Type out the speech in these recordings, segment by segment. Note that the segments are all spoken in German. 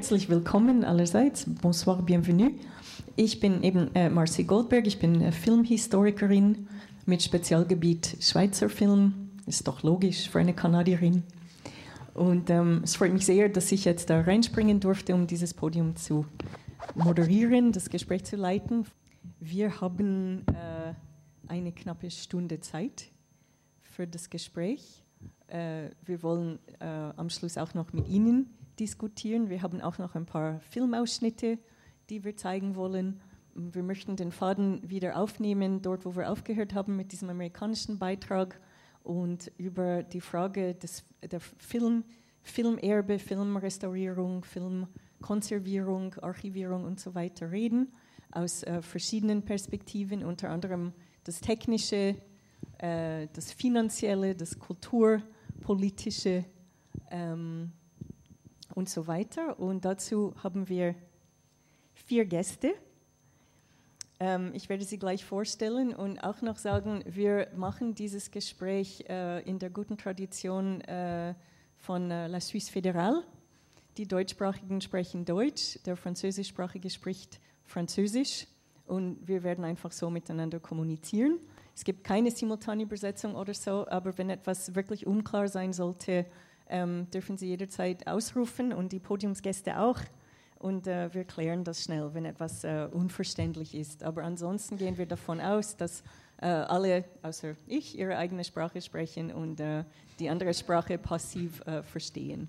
herzlich willkommen allerseits. Bonsoir, bienvenue. Ich bin eben Marcy Goldberg, ich bin Filmhistorikerin mit Spezialgebiet Schweizer Film. Ist doch logisch für eine Kanadierin. Und es freut mich sehr, dass ich jetzt da reinspringen durfte, um dieses Podium zu moderieren, das Gespräch zu leiten. Wir haben eine knappe Stunde Zeit für das Gespräch. Wir wollen am Schluss auch noch mit Ihnen diskutieren. Wir haben auch noch ein paar Filmausschnitte, die wir zeigen wollen. Wir möchten den Faden wieder aufnehmen, dort wo wir aufgehört haben mit diesem amerikanischen Beitrag und über die Frage der Filmerbe, Filmrestaurierung, Filmkonservierung, Archivierung und so weiter reden, aus verschiedenen Perspektiven, unter anderem das Technische, das Finanzielle, das Kulturpolitische und so weiter. Und dazu haben wir 4 Gäste. Ich werde sie gleich vorstellen und auch noch sagen, wir machen dieses Gespräch in der guten Tradition von La Suisse Fédérale. Die Deutschsprachigen sprechen Deutsch, der Französischsprachige spricht Französisch und wir werden einfach so miteinander kommunizieren. Es gibt keine simultane Übersetzung oder so, aber wenn etwas wirklich unklar sein sollte, dürfen Sie jederzeit ausrufen und die Podiumsgäste auch. Und wir klären das schnell, wenn etwas unverständlich ist. Aber ansonsten gehen wir davon aus, dass alle, außer ich, ihre eigene Sprache sprechen und die andere Sprache passiv verstehen.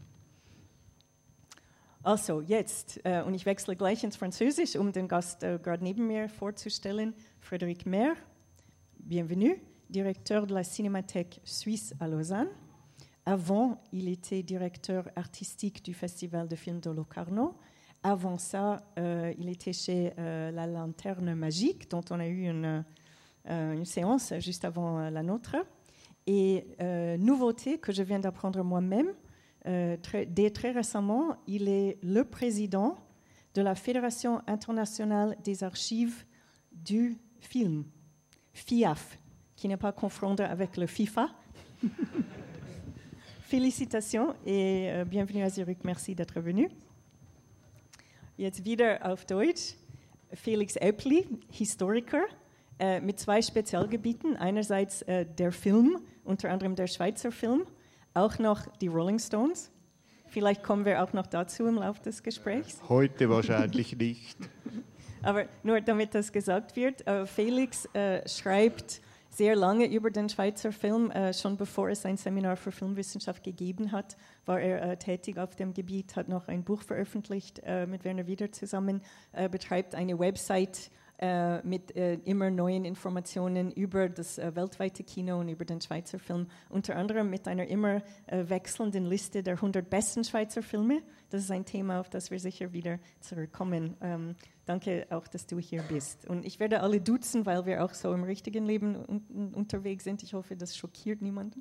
Also jetzt, und ich wechsle gleich ins Französisch, um den Gast gerade neben mir vorzustellen, Frédéric Mer. Bienvenue, directeur de la Cinémathèque Suisse à Lausanne. Avant, il était directeur artistique du Festival de films de Locarno. Avant ça, il était chez La Lanterne Magique, dont on a eu une séance juste avant la nôtre. Et nouveauté que je viens d'apprendre moi-même, dès très récemment, il est le président de la Fédération internationale des archives du film, FIAF, qui n'est pas confondre avec le FIFA. Félicitations et bienvenue à Zurich. Merci d'être venu. Jetzt wieder auf Deutsch. Felix Eppli, Historiker, mit 2 Spezialgebieten. Einerseits der Film, unter anderem der Schweizer Film, auch noch die Rolling Stones. Vielleicht kommen wir auch noch dazu im Laufe des Gesprächs. Heute wahrscheinlich nicht. Aber nur damit das gesagt wird, Felix schreibt sehr lange über den Schweizer Film. Schon bevor es ein Seminar für Filmwissenschaft gegeben hat, war er tätig auf dem Gebiet, hat noch ein Buch veröffentlicht mit Werner Wieder zusammen, betreibt eine Website mit immer neuen Informationen über das weltweite Kino und über den Schweizer Film, unter anderem mit einer immer wechselnden Liste der 100 besten Schweizer Filme. Das ist ein Thema, auf das wir sicher wieder zurückkommen. Danke auch, dass du hier bist. Und ich werde alle duzen, weil wir auch so im richtigen Leben unterwegs sind. Ich hoffe, das schockiert niemanden.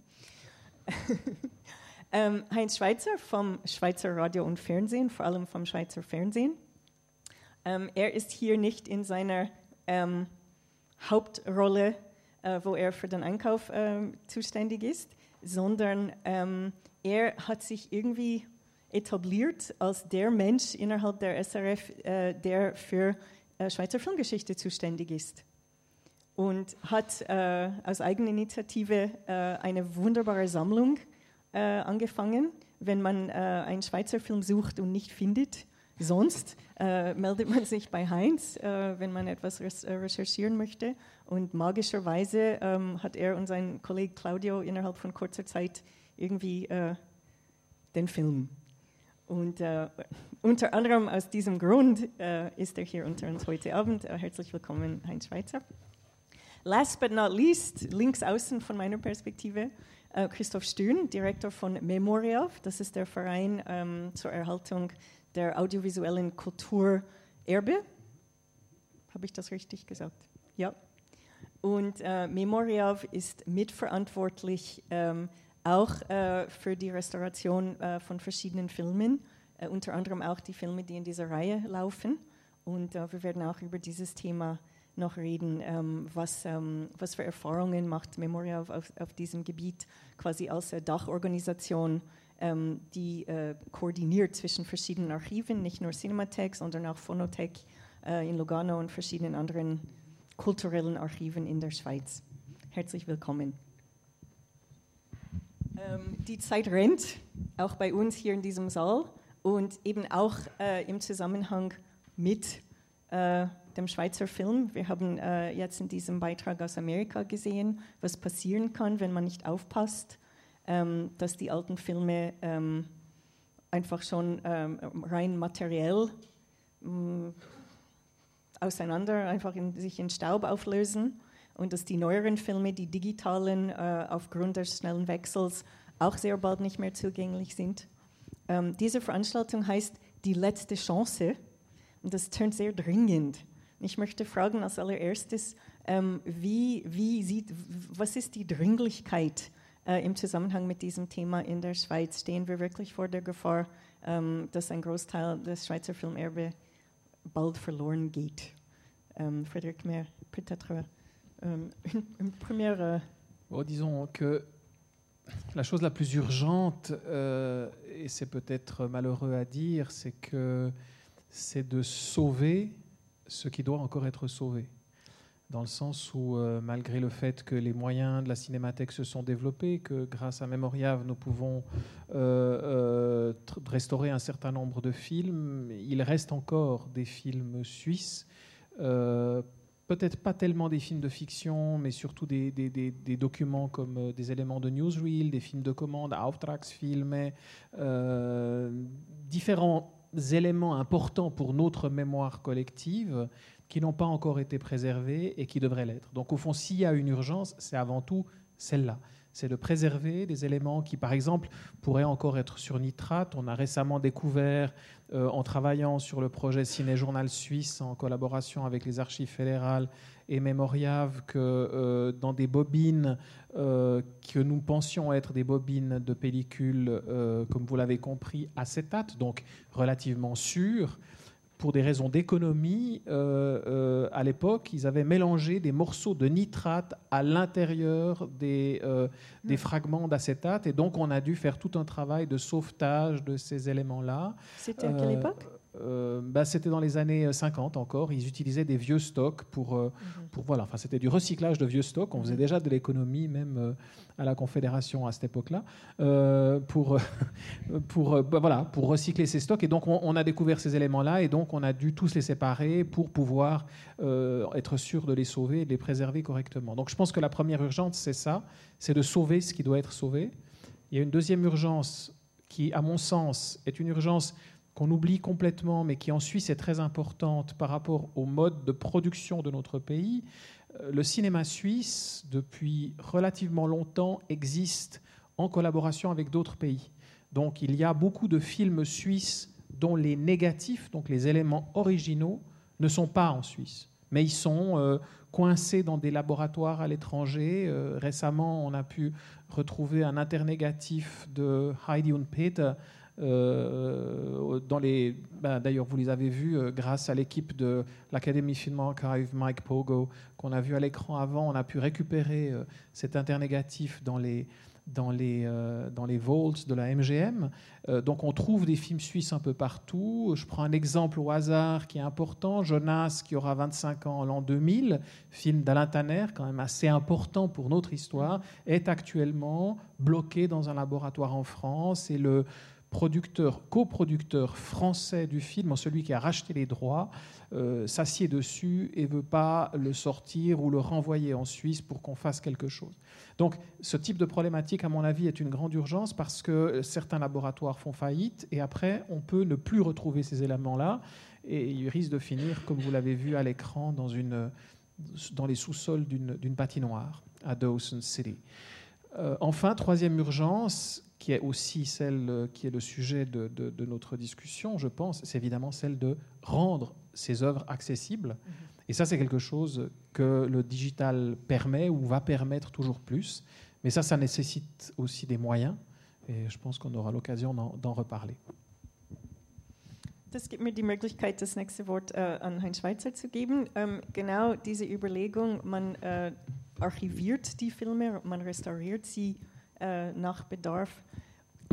Heinz Schweizer vom Schweizer Radio und Fernsehen, vor allem vom Schweizer Fernsehen. Er ist hier nicht in seiner Hauptrolle, wo er für den Einkauf zuständig ist, sondern er hat sich irgendwie etabliert als der Mensch innerhalb der SRF, der für Schweizer Filmgeschichte zuständig ist. Und hat aus eigener Initiative eine wunderbare Sammlung angefangen. Wenn man einen Schweizer Film sucht und nicht findet, sonst meldet man sich bei Heinz, wenn man etwas recherchieren möchte. Und magischerweise hat er und sein Kollege Claudio innerhalb von kurzer Zeit irgendwie den Film. Und unter anderem aus diesem Grund ist er hier unter uns heute Abend. Herzlich willkommen, Heinz Schweizer. Last but not least, links außen von meiner Perspektive, Christoph Stühn, Direktor von Memoriav. Das ist der Verein zur Erhaltung der audiovisuellen Kulturerbe. Habe ich das richtig gesagt? Ja. Und Memoriav ist mitverantwortlich auch für die Restauration von verschiedenen Filmen, unter anderem auch die Filme, die in dieser Reihe laufen. Und wir werden auch über dieses Thema noch reden, was für Erfahrungen macht Memoriav auf diesem Gebiet quasi als Dachorganisation die koordiniert zwischen verschiedenen Archiven, nicht nur Cinematheek, sondern auch Phonothek in Lugano und verschiedenen anderen kulturellen Archiven in der Schweiz. Herzlich willkommen. Die Zeit rennt, auch bei uns hier in diesem Saal und eben auch im Zusammenhang mit dem Schweizer Film. Wir haben jetzt in diesem Beitrag aus Amerika gesehen, was passieren kann, wenn man nicht aufpasst, dass die alten Filme einfach schon rein materiell sich in Staub auflösen und dass die neueren Filme, die digitalen, aufgrund des schnellen Wechsels auch sehr bald nicht mehr zugänglich sind. Diese Veranstaltung heißt Die letzte Chance und das tönt sehr dringend. Ich möchte fragen als allererstes, was ist die Dringlichkeit im Zusammenhang mit diesem Thema in der Schweiz? Stehen wir wirklich vor der Gefahr, dass ein Großteil des Schweizer Filmerbe bald verloren geht? Frédéric Mer, peut-être une première... Disons que la chose la plus urgente, et c'est peut-être malheureux à dire, c'est de sauver ce qui doit encore être sauvé. Dans le sens où, malgré le fait que les moyens de la Cinémathèque se sont développés, que grâce à Memoriave, nous pouvons restaurer un certain nombre de films, il reste encore des films suisses, peut-être pas tellement des films de fiction, mais surtout des documents comme des éléments de newsreel, des films de commande, Auftragsfilme, différents éléments importants pour notre mémoire collective qui n'ont pas encore été préservés et qui devraient l'être. Donc au fond, s'il y a une urgence, c'est avant tout celle-là. C'est de préserver des éléments qui, par exemple, pourraient encore être sur nitrate. On a récemment découvert, en travaillant sur le projet Ciné-Journal Suisse, en collaboration avec les archives fédérales et Memoriave, que dans des bobines que nous pensions être des bobines de pellicule, comme vous l'avez compris, acétate, donc relativement sûres, pour des raisons d'économie, à l'époque, ils avaient mélangé des morceaux de nitrate à l'intérieur des fragments d'acétate. Et donc, on a dû faire tout un travail de sauvetage de ces éléments-là. C'était à quelle époque ? C'était dans les années 50 encore. Ils utilisaient des vieux stocks voilà. Enfin, c'était du recyclage de vieux stocks. On faisait déjà de l'économie, même à la Confédération à cette époque-là, pour recycler ces stocks. Et donc, on a découvert ces éléments-là, et donc on a dû tous les séparer pour pouvoir être sûr de les sauver et de les préserver correctement. Donc, je pense que la première urgence, c'est ça, c'est de sauver ce qui doit être sauvé. Il y a une deuxième urgence qui, à mon sens, est une urgence qu'on oublie complètement, mais qui en Suisse est très importante par rapport au mode de production de notre pays. Le cinéma suisse, depuis relativement longtemps, existe en collaboration avec d'autres pays. Donc il y a beaucoup de films suisses dont les négatifs, donc les éléments originaux, ne sont pas en Suisse, mais ils sont coincés dans des laboratoires à l'étranger. Récemment, on a pu retrouver un internégatif de Heidi und Peter, d'ailleurs vous les avez vus grâce à l'équipe de l'Academy Film Archive, Mike Pogo, qu'on a vu à l'écran avant. On a pu récupérer cet internégatif dans les vaults de la MGM. Donc on trouve des films suisses un peu partout. Je prends un exemple au hasard qui est important. Jonas, qui aura 25 ans en l'an 2000, film d'Alain Tanner, quand même assez important pour notre histoire, est actuellement bloqué dans un laboratoire en France, et le coproducteur français du film, celui qui a racheté les droits, s'assied dessus et ne veut pas le sortir ou le renvoyer en Suisse pour qu'on fasse quelque chose. Donc ce type de problématique, à mon avis, est une grande urgence, parce que certains laboratoires font faillite et après on peut ne plus retrouver ces éléments-là, et ils risquent de finir, comme vous l'avez vu à l'écran, dans les sous-sols d'une patinoire à Dawson City. Enfin, troisième urgence, qui est aussi celle qui est le sujet de notre discussion, je pense, c'est évidemment celle de rendre ces œuvres accessibles. Et ça, c'est quelque chose que le digital permet ou va permettre toujours plus. Mais ça nécessite aussi des moyens. Et je pense qu'on aura l'occasion d'en reparler. Das gibt mir die Möglichkeit, das nächste Wort an Heinz Schweizer zu geben. Genau diese Überlegung, man archiviert die Filme, man restauriert sie nach Bedarf.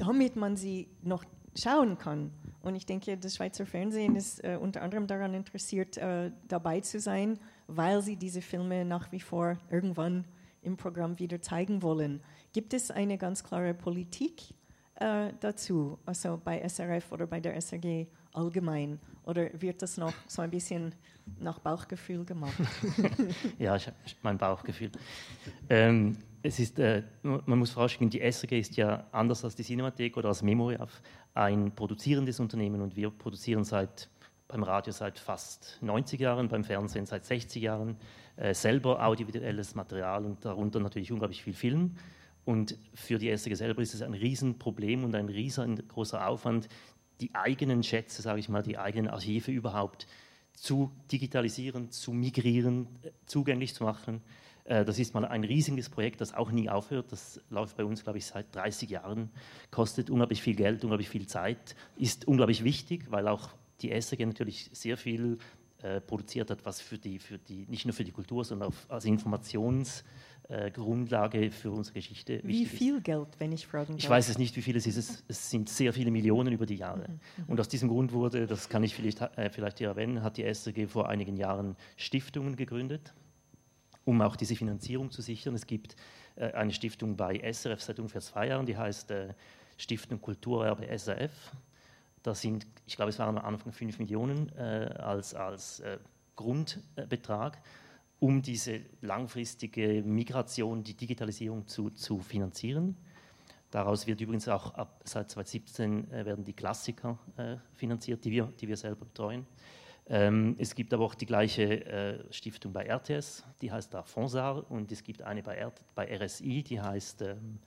damit man sie noch schauen kann. Und ich denke, das Schweizer Fernsehen ist unter anderem daran interessiert, dabei zu sein, weil sie diese Filme nach wie vor irgendwann im Programm wieder zeigen wollen. Gibt es eine ganz klare Politik dazu, also bei SRF oder bei der SRG allgemein? Oder wird das noch so ein bisschen nach Bauchgefühl gemacht? Ja, mein Bauchgefühl. Es ist, man muss vorausschicken, die SRG ist ja anders als die Cinemathek oder als Memoriaf ein produzierendes Unternehmen und wir produzieren beim Radio seit fast 90 Jahren, beim Fernsehen seit 60 Jahren selber audiovisuelles Material und darunter natürlich unglaublich viel Film. Und für die SRG selber ist es ein Riesenproblem und ein riesengroßer Aufwand, die eigenen Schätze, sage ich mal, die eigenen Archive überhaupt zu digitalisieren, zu migrieren, zugänglich zu machen. Das ist mal ein riesiges Projekt, das auch nie aufhört. Das läuft bei uns, glaube ich, seit 30 Jahren, kostet unglaublich viel Geld, unglaublich viel Zeit, ist unglaublich wichtig, weil auch die SRG natürlich sehr viel produziert hat, was nicht nur für die Kultur, sondern auch als Informationsgrundlage für unsere Geschichte wichtig ist. Wie viel Geld, wenn ich fragen darf? Ich weiß es nicht, wie viel es ist. Es sind sehr viele Millionen über die Jahre. Und aus diesem Grund wurde, das kann ich vielleicht hier erwähnen, hat die SRG vor einigen Jahren Stiftungen gegründet, um auch diese Finanzierung zu sichern. Es gibt eine Stiftung bei SRF seit ungefähr 2 Jahren, die heißt Stiftung Kulturerbe SRF. Das sind, ich glaube, es waren am Anfang 5 Millionen als Grundbetrag, um diese langfristige Migration, die Digitalisierung zu finanzieren. Daraus wird übrigens auch seit 2017 werden die Klassiker finanziert, die wir selber betreuen. Es gibt aber auch die gleiche Stiftung bei RTS, die heißt da Fonsar, und es gibt eine bei RSI, die heißt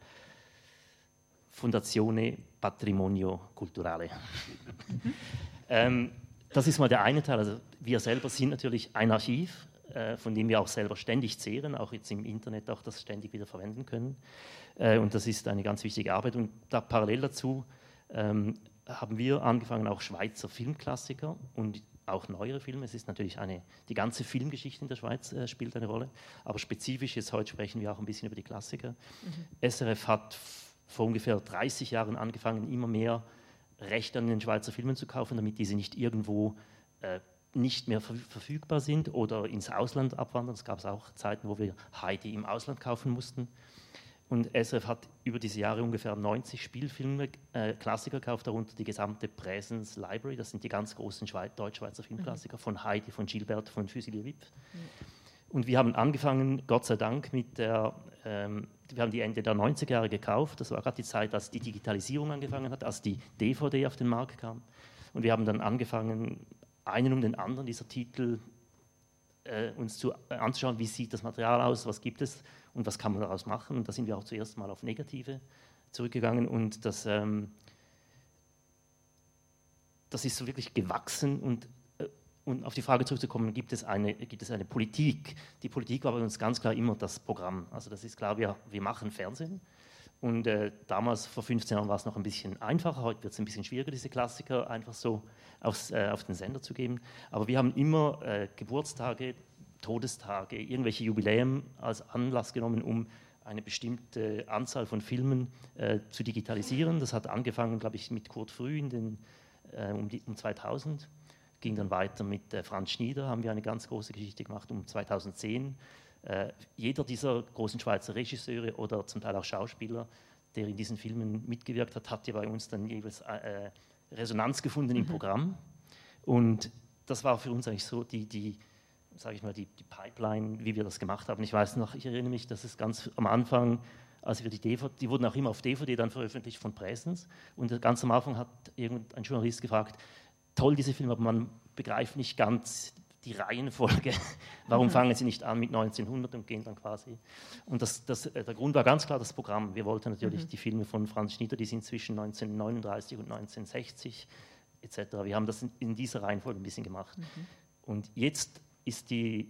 Fondazione Patrimonio Culturale. Das ist mal der eine Teil. Also wir selber sind natürlich ein Archiv, von dem wir auch selber ständig zehren, auch jetzt im Internet auch das ständig wieder verwenden können. Und das ist eine ganz wichtige Arbeit. Und da parallel dazu haben wir angefangen, auch Schweizer Filmklassiker und auch neuere Filme. Es ist natürlich die ganze Filmgeschichte in der Schweiz spielt eine Rolle, aber spezifisch jetzt heute sprechen wir auch ein bisschen über die Klassiker. SRF hat vor ungefähr 30 Jahren angefangen, immer mehr Rechte an den Schweizer Filmen zu kaufen, damit diese nicht irgendwo nicht mehr verfügbar sind oder ins Ausland abwandern. Es gab auch Zeiten, wo wir Heidi im Ausland kaufen mussten. Und SRF hat über diese Jahre ungefähr 90 Spielfilme, Klassiker gekauft, darunter die gesamte Presence Library. Das sind die ganz großen Deutsch-Schweizer Filmklassiker von Heidi, von Gilbert, von Fusilier Wipp. Und wir haben angefangen, Gott sei Dank, wir haben die Ende der 90er Jahre gekauft. Das war gerade die Zeit, als die Digitalisierung angefangen hat, als die DVD auf den Markt kam. Und wir haben dann angefangen, einen um den anderen dieser Titel uns anzuschauen, wie sieht das Material aus, was gibt es und was kann man daraus machen. Und da sind wir auch zuerst mal auf Negative zurückgegangen und das ist so wirklich gewachsen und auf die Frage zurückzukommen, gibt es eine Politik? Die Politik war bei uns ganz klar immer das Programm. Also das ist klar, wir machen Fernsehen. Und damals, vor 15 Jahren, war es noch ein bisschen einfacher. Heute wird es ein bisschen schwieriger, diese Klassiker einfach so auf den Sender zu geben. Aber wir haben immer Geburtstage, Todestage, irgendwelche Jubiläen als Anlass genommen, um eine bestimmte Anzahl von Filmen zu digitalisieren. Das hat angefangen, glaube ich, mit Kurt Früh um 2000. Ging dann weiter mit Franz Schnieder, haben wir eine ganz große Geschichte gemacht um 2010. Jeder dieser großen Schweizer Regisseure oder zum Teil auch Schauspieler, der in diesen Filmen mitgewirkt hat, hat ja bei uns dann jeweils Resonanz gefunden im Programm. Und das war für uns eigentlich so die Pipeline, wie wir das gemacht haben. Ich weiß noch, ich erinnere mich, dass es ganz am Anfang, als wir die wurden auch immer auf DVD dann veröffentlicht von Presence. Und ganz am Anfang hat irgendein Journalist gefragt, toll diese Filme, aber man begreift nicht ganz die Reihenfolge. Warum fangen sie nicht an mit 1900 und gehen dann quasi? Und der Grund war ganz klar das Programm. Wir wollten natürlich die Filme von Franz Schnieder, die sind zwischen 1939 und 1960 etc. Wir haben das in dieser Reihenfolge ein bisschen gemacht. Und jetzt ist die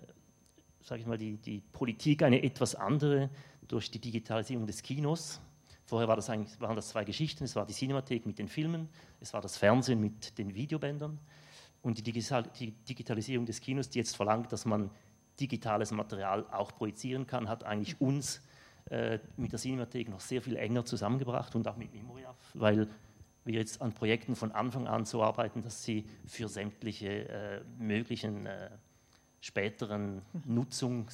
Politik eine etwas andere durch die Digitalisierung des Kinos. Vorher waren das 2 Geschichten. Es war die Cinemathek mit den Filmen, es war das Fernsehen mit den Videobändern. Und die Digitalisierung des Kinos, die jetzt verlangt, dass man digitales Material auch projizieren kann, hat eigentlich uns mit der Cinemathek noch sehr viel enger zusammengebracht und auch mit Memoriaf, weil wir jetzt an Projekten von Anfang an so arbeiten, dass sie für sämtliche möglichen späteren Nutzungen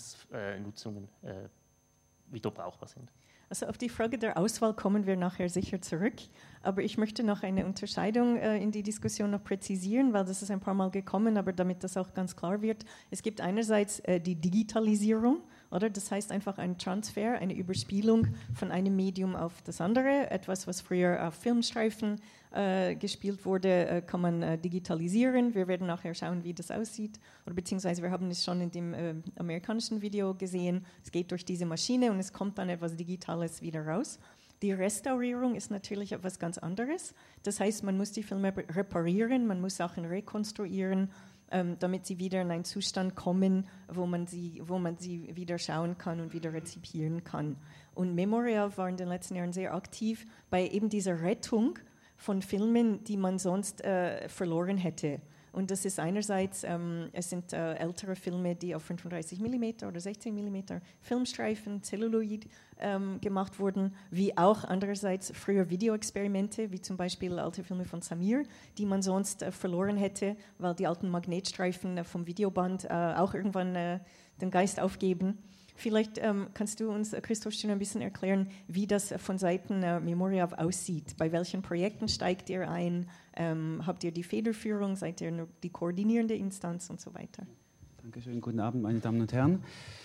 wieder brauchbar sind. Also auf die Frage der Auswahl kommen wir nachher sicher zurück, aber ich möchte noch eine Unterscheidung in die Diskussion noch präzisieren, weil das ist ein paar Mal gekommen, aber damit das auch ganz klar wird. Es gibt einerseits die Digitalisierung, oder? Das heißt einfach ein Transfer, eine Überspielung von einem Medium auf das andere. Etwas, was früher auf Filmstreifen gespielt wurde, kann man digitalisieren. Wir werden nachher schauen, wie das aussieht. Oder beziehungsweise wir haben es schon in dem amerikanischen Video gesehen. Es geht durch diese Maschine und es kommt dann etwas Digitales wieder raus. Die Restaurierung ist natürlich etwas ganz anderes. Das heißt, man muss die Filme reparieren, man muss Sachen rekonstruieren, damit sie wieder in einen Zustand kommen, wo man sie wieder schauen kann und wieder rezipieren kann. Und Memorial war in den letzten Jahren sehr aktiv bei eben dieser Rettung von Filmen, die man sonst verloren hätte. Und das ist einerseits, es sind ältere Filme, die auf 35 mm oder 16 mm Filmstreifen, Celluloid gemacht wurden, wie auch andererseits früher Videoexperimente, wie zum Beispiel alte Filme von Samir, die man sonst verloren hätte, weil die alten Magnetstreifen vom Videoband auch irgendwann den Geist aufgeben. Vielleicht kannst du uns, Christoph, schon ein bisschen erklären, wie das von Seiten Memoriaf aussieht. Bei welchen Projekten steigt ihr ein? Habt ihr die Federführung? Seid ihr nur die koordinierende Instanz und so weiter? Dankeschön, guten Abend, meine Damen und Herren.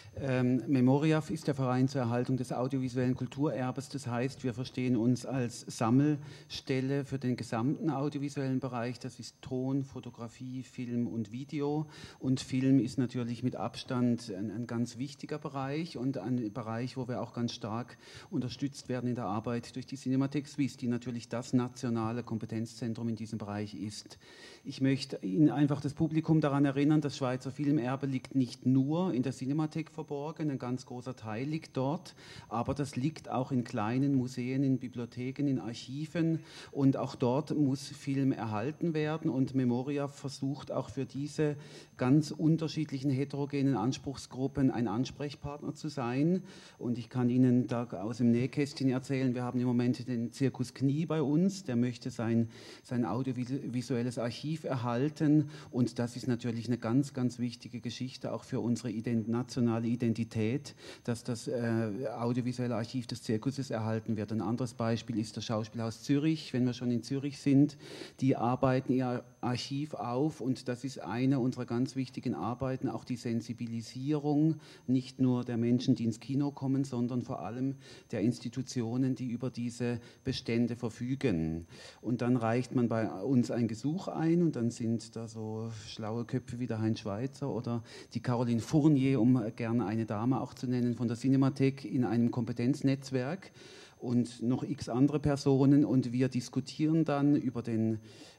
Memoriaf ist der Verein zur Erhaltung des audiovisuellen Kulturerbes. Das heißt, wir verstehen uns als Sammelstelle für den gesamten audiovisuellen Bereich. Das ist Ton, Fotografie, Film und Video. Und Film ist natürlich mit Abstand ein ganz wichtiger Bereich und ein Bereich, wo wir auch ganz stark unterstützt werden in der Arbeit durch die Cinemathek Suisse, die natürlich das nationale Kompetenzzentrum in diesem Bereich ist. Ich möchte Ihnen einfach das Publikum daran erinnern, das Schweizer Filmerbe liegt nicht nur in der Cinemathek verborgen, ein ganz großer Teil liegt dort, aber das liegt auch in kleinen Museen, in Bibliotheken, in Archiven und auch dort muss Film erhalten werden und Memoriaf versucht auch für diese ganz unterschiedlichen heterogenen Anspruchsgruppen ein Ansprechpartner zu sein und ich kann Ihnen da aus dem Nähkästchen erzählen, wir haben im Moment den Zirkus Knie bei uns, der möchte sein audiovisuelles Archiv erhalten und das ist natürlich eine ganz, ganz wichtige Geschichte auch für unsere nationale Identität, dass das audiovisuelle Archiv des Zirkuses erhalten wird. Ein anderes Beispiel ist das Schauspielhaus Zürich, wenn wir schon in Zürich sind, die arbeiten ihr Archiv auf und das ist eine unserer ganz wichtigen Arbeiten, auch die Sensibilisierung nicht nur der Menschen, die ins Kino kommen, sondern vor allem der Institutionen, die über diese Bestände verfügen. Und dann reicht man bei uns ein Gesuch ein und dann sind da so schlaue Köpfe wie der Heinz Schweizer oder die Caroline Fournier, um gerne eine Dame auch zu nennen, von der Cinemathek in einem Kompetenznetzwerk und noch x andere Personen und wir diskutieren dann über den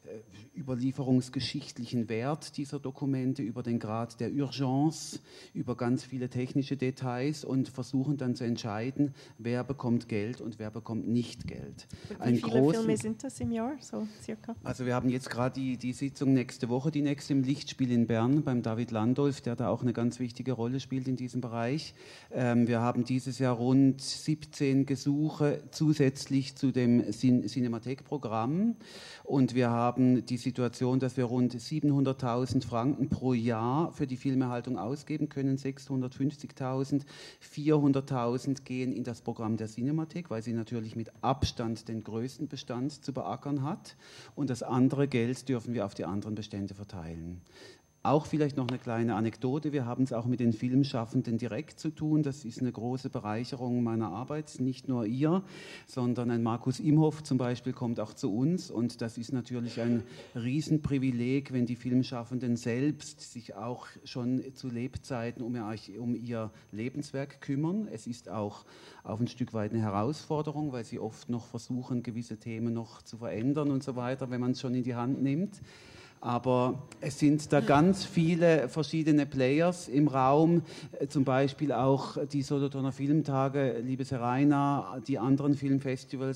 überlieferungsgeschichtlichen Wert dieser Dokumente, über den Grad der Urgence, über ganz viele technische Details und versuchen dann zu entscheiden, wer bekommt Geld und wer bekommt nicht Geld. Wie viele Filme sind das im Jahr, so circa? Also wir haben jetzt gerade die Sitzung nächste Woche, die nächste im Lichtspiel in Bern beim David Landolf, der da auch eine ganz wichtige Rolle spielt in diesem Bereich. Wir haben dieses Jahr rund 17 Gesuche zusätzlich zu dem Cinemathek-Programm und wir haben die Situation, dass wir rund 700.000 Franken pro Jahr für die Filmerhaltung ausgeben können, 650.000, 400.000 gehen in das Programm der Cinemathek, weil sie natürlich mit Abstand den größten Bestand zu beackern hat und das andere Geld dürfen wir auf die anderen Bestände verteilen. Auch vielleicht noch eine kleine Anekdote, wir haben es auch mit den Filmschaffenden direkt zu tun, das ist eine große Bereicherung meiner Arbeit, nicht nur ihr, sondern ein Markus Imhoff zum Beispiel kommt auch zu uns und das ist natürlich ein Riesenprivileg, wenn die Filmschaffenden selbst sich auch schon zu Lebzeiten um ihr Lebenswerk kümmern. Es ist auch auf ein Stück weit eine Herausforderung, weil sie oft noch versuchen, gewisse Themen noch zu verändern und so weiter, wenn man es schon in die Hand nimmt. Aber es sind da ganz viele verschiedene Players im Raum, zum Beispiel auch die Solothurner Filmtage, liebe Seraina, die anderen Filmfestivals,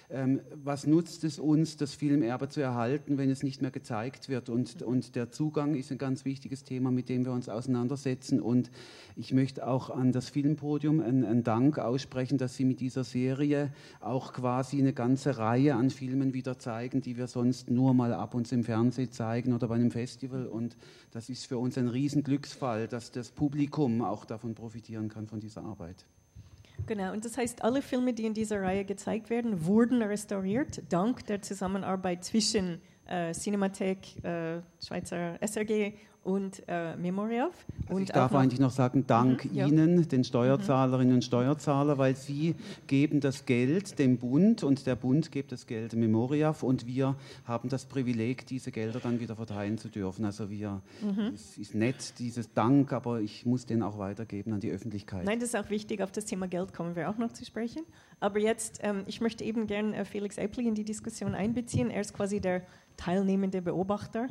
Was nutzt es uns, das Filmerbe zu erhalten, wenn es nicht mehr gezeigt wird? Und der Zugang ist ein ganz wichtiges Thema, mit dem wir uns auseinandersetzen. Und ich möchte auch an das Filmpodium einen Dank aussprechen, dass Sie mit dieser Serie auch quasi eine ganze Reihe an Filmen wieder zeigen, die wir sonst nur mal ab und zu im Fernsehen zeigen oder bei einem Festival. Und das ist für uns ein Riesenglücksfall, dass das Publikum auch davon profitieren kann, von dieser Arbeit. Genau, und das heißt, alle Filme, die in dieser Reihe gezeigt werden, wurden restauriert, dank der Zusammenarbeit zwischen Cinemathek, Schweizer SRG und Memoriaf. Also ich darf eigentlich noch sagen, dank Ihnen, den Steuerzahlerinnen und Steuerzahler, weil Sie geben das Geld dem Bund und der Bund gibt das Geld dem Memoriaf und wir haben das Privileg, diese Gelder dann wieder verteilen zu dürfen. Also es ist nett, dieses Dank, aber ich muss den auch weitergeben an die Öffentlichkeit. Nein, das ist auch wichtig, auf das Thema Geld kommen wir auch noch zu sprechen. Aber jetzt, ich möchte eben gern Felix Eppli in die Diskussion einbeziehen. Er ist quasi der teilnehmende Beobachter.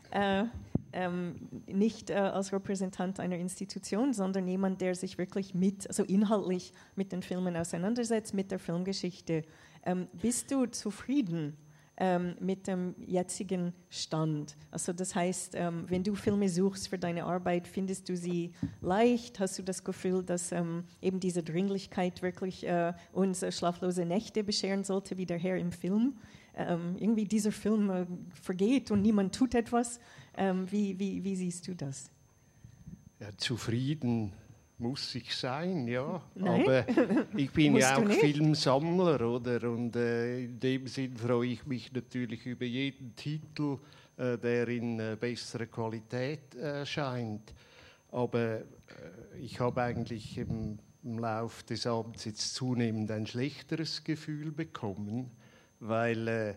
Nicht als Repräsentant einer Institution, sondern jemand, der sich wirklich inhaltlich mit den Filmen auseinandersetzt, mit der Filmgeschichte. Bist du zufrieden mit dem jetzigen Stand? Also das heißt, wenn du Filme suchst für deine Arbeit, findest du sie leicht? Hast du das Gefühl, dass eben diese Dringlichkeit wirklich uns schlaflose Nächte bescheren sollte, wie der Herr im Film? Irgendwie dieser Film vergeht und niemand tut etwas. Wie siehst du das? Ja, zufrieden muss ich sein, ja. Nein? Aber ich bin ja auch nicht? Filmsammler, oder? Und in dem Sinn freue ich mich natürlich über jeden Titel, der in besserer Qualität erscheint. Aber ich habe eigentlich im Laufe des Abends jetzt zunehmend ein schlechteres Gefühl bekommen, weil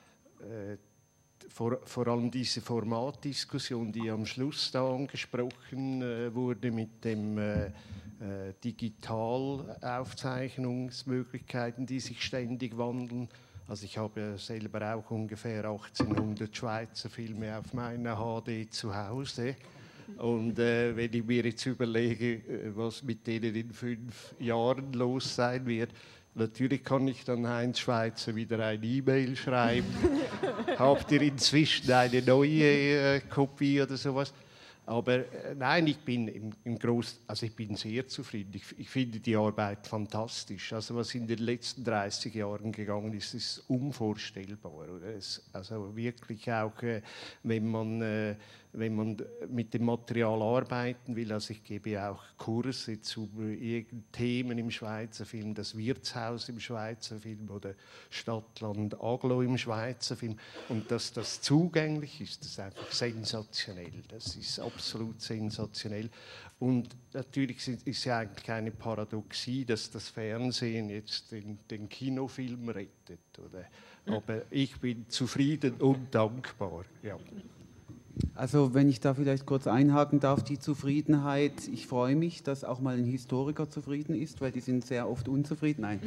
vor allem diese Formatdiskussion, die am Schluss da angesprochen wurde mit dem Digitalaufzeichnungsmöglichkeiten, die sich ständig wandeln. Also ich habe selber auch ungefähr 1800 Schweizer Filme auf meiner HD zu Hause. Und wenn ich mir jetzt überlege, was mit denen in 5 Jahren los sein wird, natürlich kann ich dann Heinz Schweizer wieder eine E-Mail schreiben. Habt ihr inzwischen eine neue Kopie oder sowas? Aber nein, ich bin ich bin sehr zufrieden. Ich finde die Arbeit fantastisch. Also was in den letzten 30 Jahren gegangen ist, ist unvorstellbar. Oder? Also wirklich auch, wenn man mit dem Material arbeiten will. Also ich gebe auch Kurse zu Themen im Schweizer Film, das Wirtshaus im Schweizer Film oder Stadtland Aglo im Schweizer Film. Und dass das zugänglich ist, das ist einfach sensationell. Das ist absolut sensationell. Und natürlich ist ja eigentlich eine Paradoxie, dass das Fernsehen jetzt den Kinofilm rettet. Oder? Aber ich bin zufrieden und dankbar. Ja. Also wenn ich da vielleicht kurz einhaken darf, die Zufriedenheit, ich freue mich, dass auch mal ein Historiker zufrieden ist, weil die sind sehr oft unzufrieden. Nein.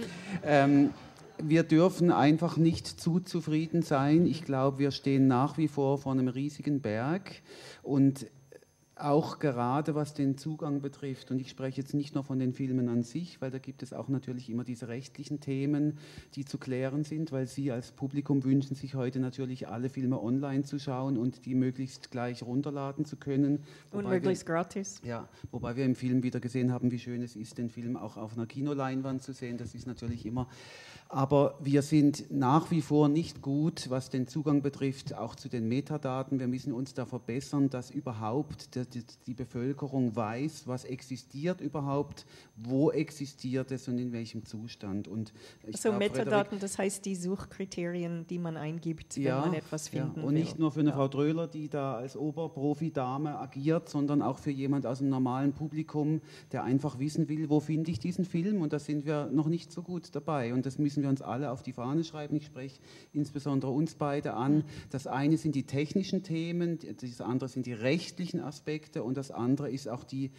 Wir dürfen einfach nicht zu zufrieden sein. Ich glaube, wir stehen nach wie vor vor einem riesigen Berg und auch gerade was den Zugang betrifft, und ich spreche jetzt nicht nur von den Filmen an sich, weil da gibt es auch natürlich immer diese rechtlichen Themen, die zu klären sind, weil Sie als Publikum wünschen sich heute natürlich alle Filme online zu schauen und die möglichst gleich runterladen zu können. Und möglichst gratis. Ja, wobei wir im Film wieder gesehen haben, wie schön es ist, den Film auch auf einer Kinoleinwand zu sehen. Das ist natürlich immer... Aber wir sind nach wie vor nicht gut, was den Zugang betrifft, auch zu den Metadaten. Wir müssen uns da verbessern, dass überhaupt die Bevölkerung weiß, was existiert überhaupt, wo existiert es und in welchem Zustand. Und also Metadaten, das heißt die Suchkriterien, die man eingibt, wenn man etwas finden will. Und nicht nur für eine Frau Dröhler, die da als Oberprofi-Dame agiert, sondern auch für jemand aus dem normalen Publikum, der einfach wissen will, wo finde ich diesen Film, und da sind wir noch nicht so gut dabei. Und das müssen wir uns alle auf die Fahne schreiben. Ich spreche insbesondere uns beide an. Das eine sind die technischen Themen, das andere sind die rechtlichen Aspekte und das andere ist auch der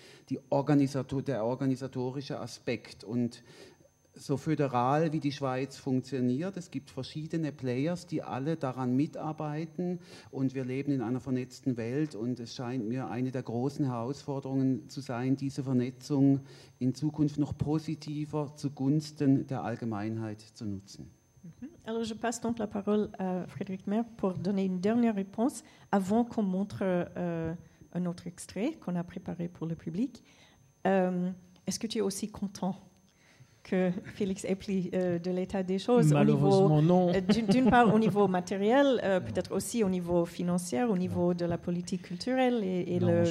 organisatorische Aspekt. Und so föderal wie die Schweiz funktioniert, es gibt verschiedene Players, die alle daran mitarbeiten, und wir leben in einer vernetzten Welt, und es scheint mir eine der großen Herausforderungen zu sein, diese Vernetzung in Zukunft noch positiver zugunsten der Allgemeinheit zu nutzen. Alors, je passe donc la parole à Frédéric Mer pour donner une dernière réponse avant qu'on montre un autre extrait qu'on a préparé pour le public. Est-ce que tu es aussi content que Félix Epli de l'état des choses Malheureusement, non. D'une part au niveau matériel, peut-être aussi au niveau financier, au niveau de la politique culturelle et Non,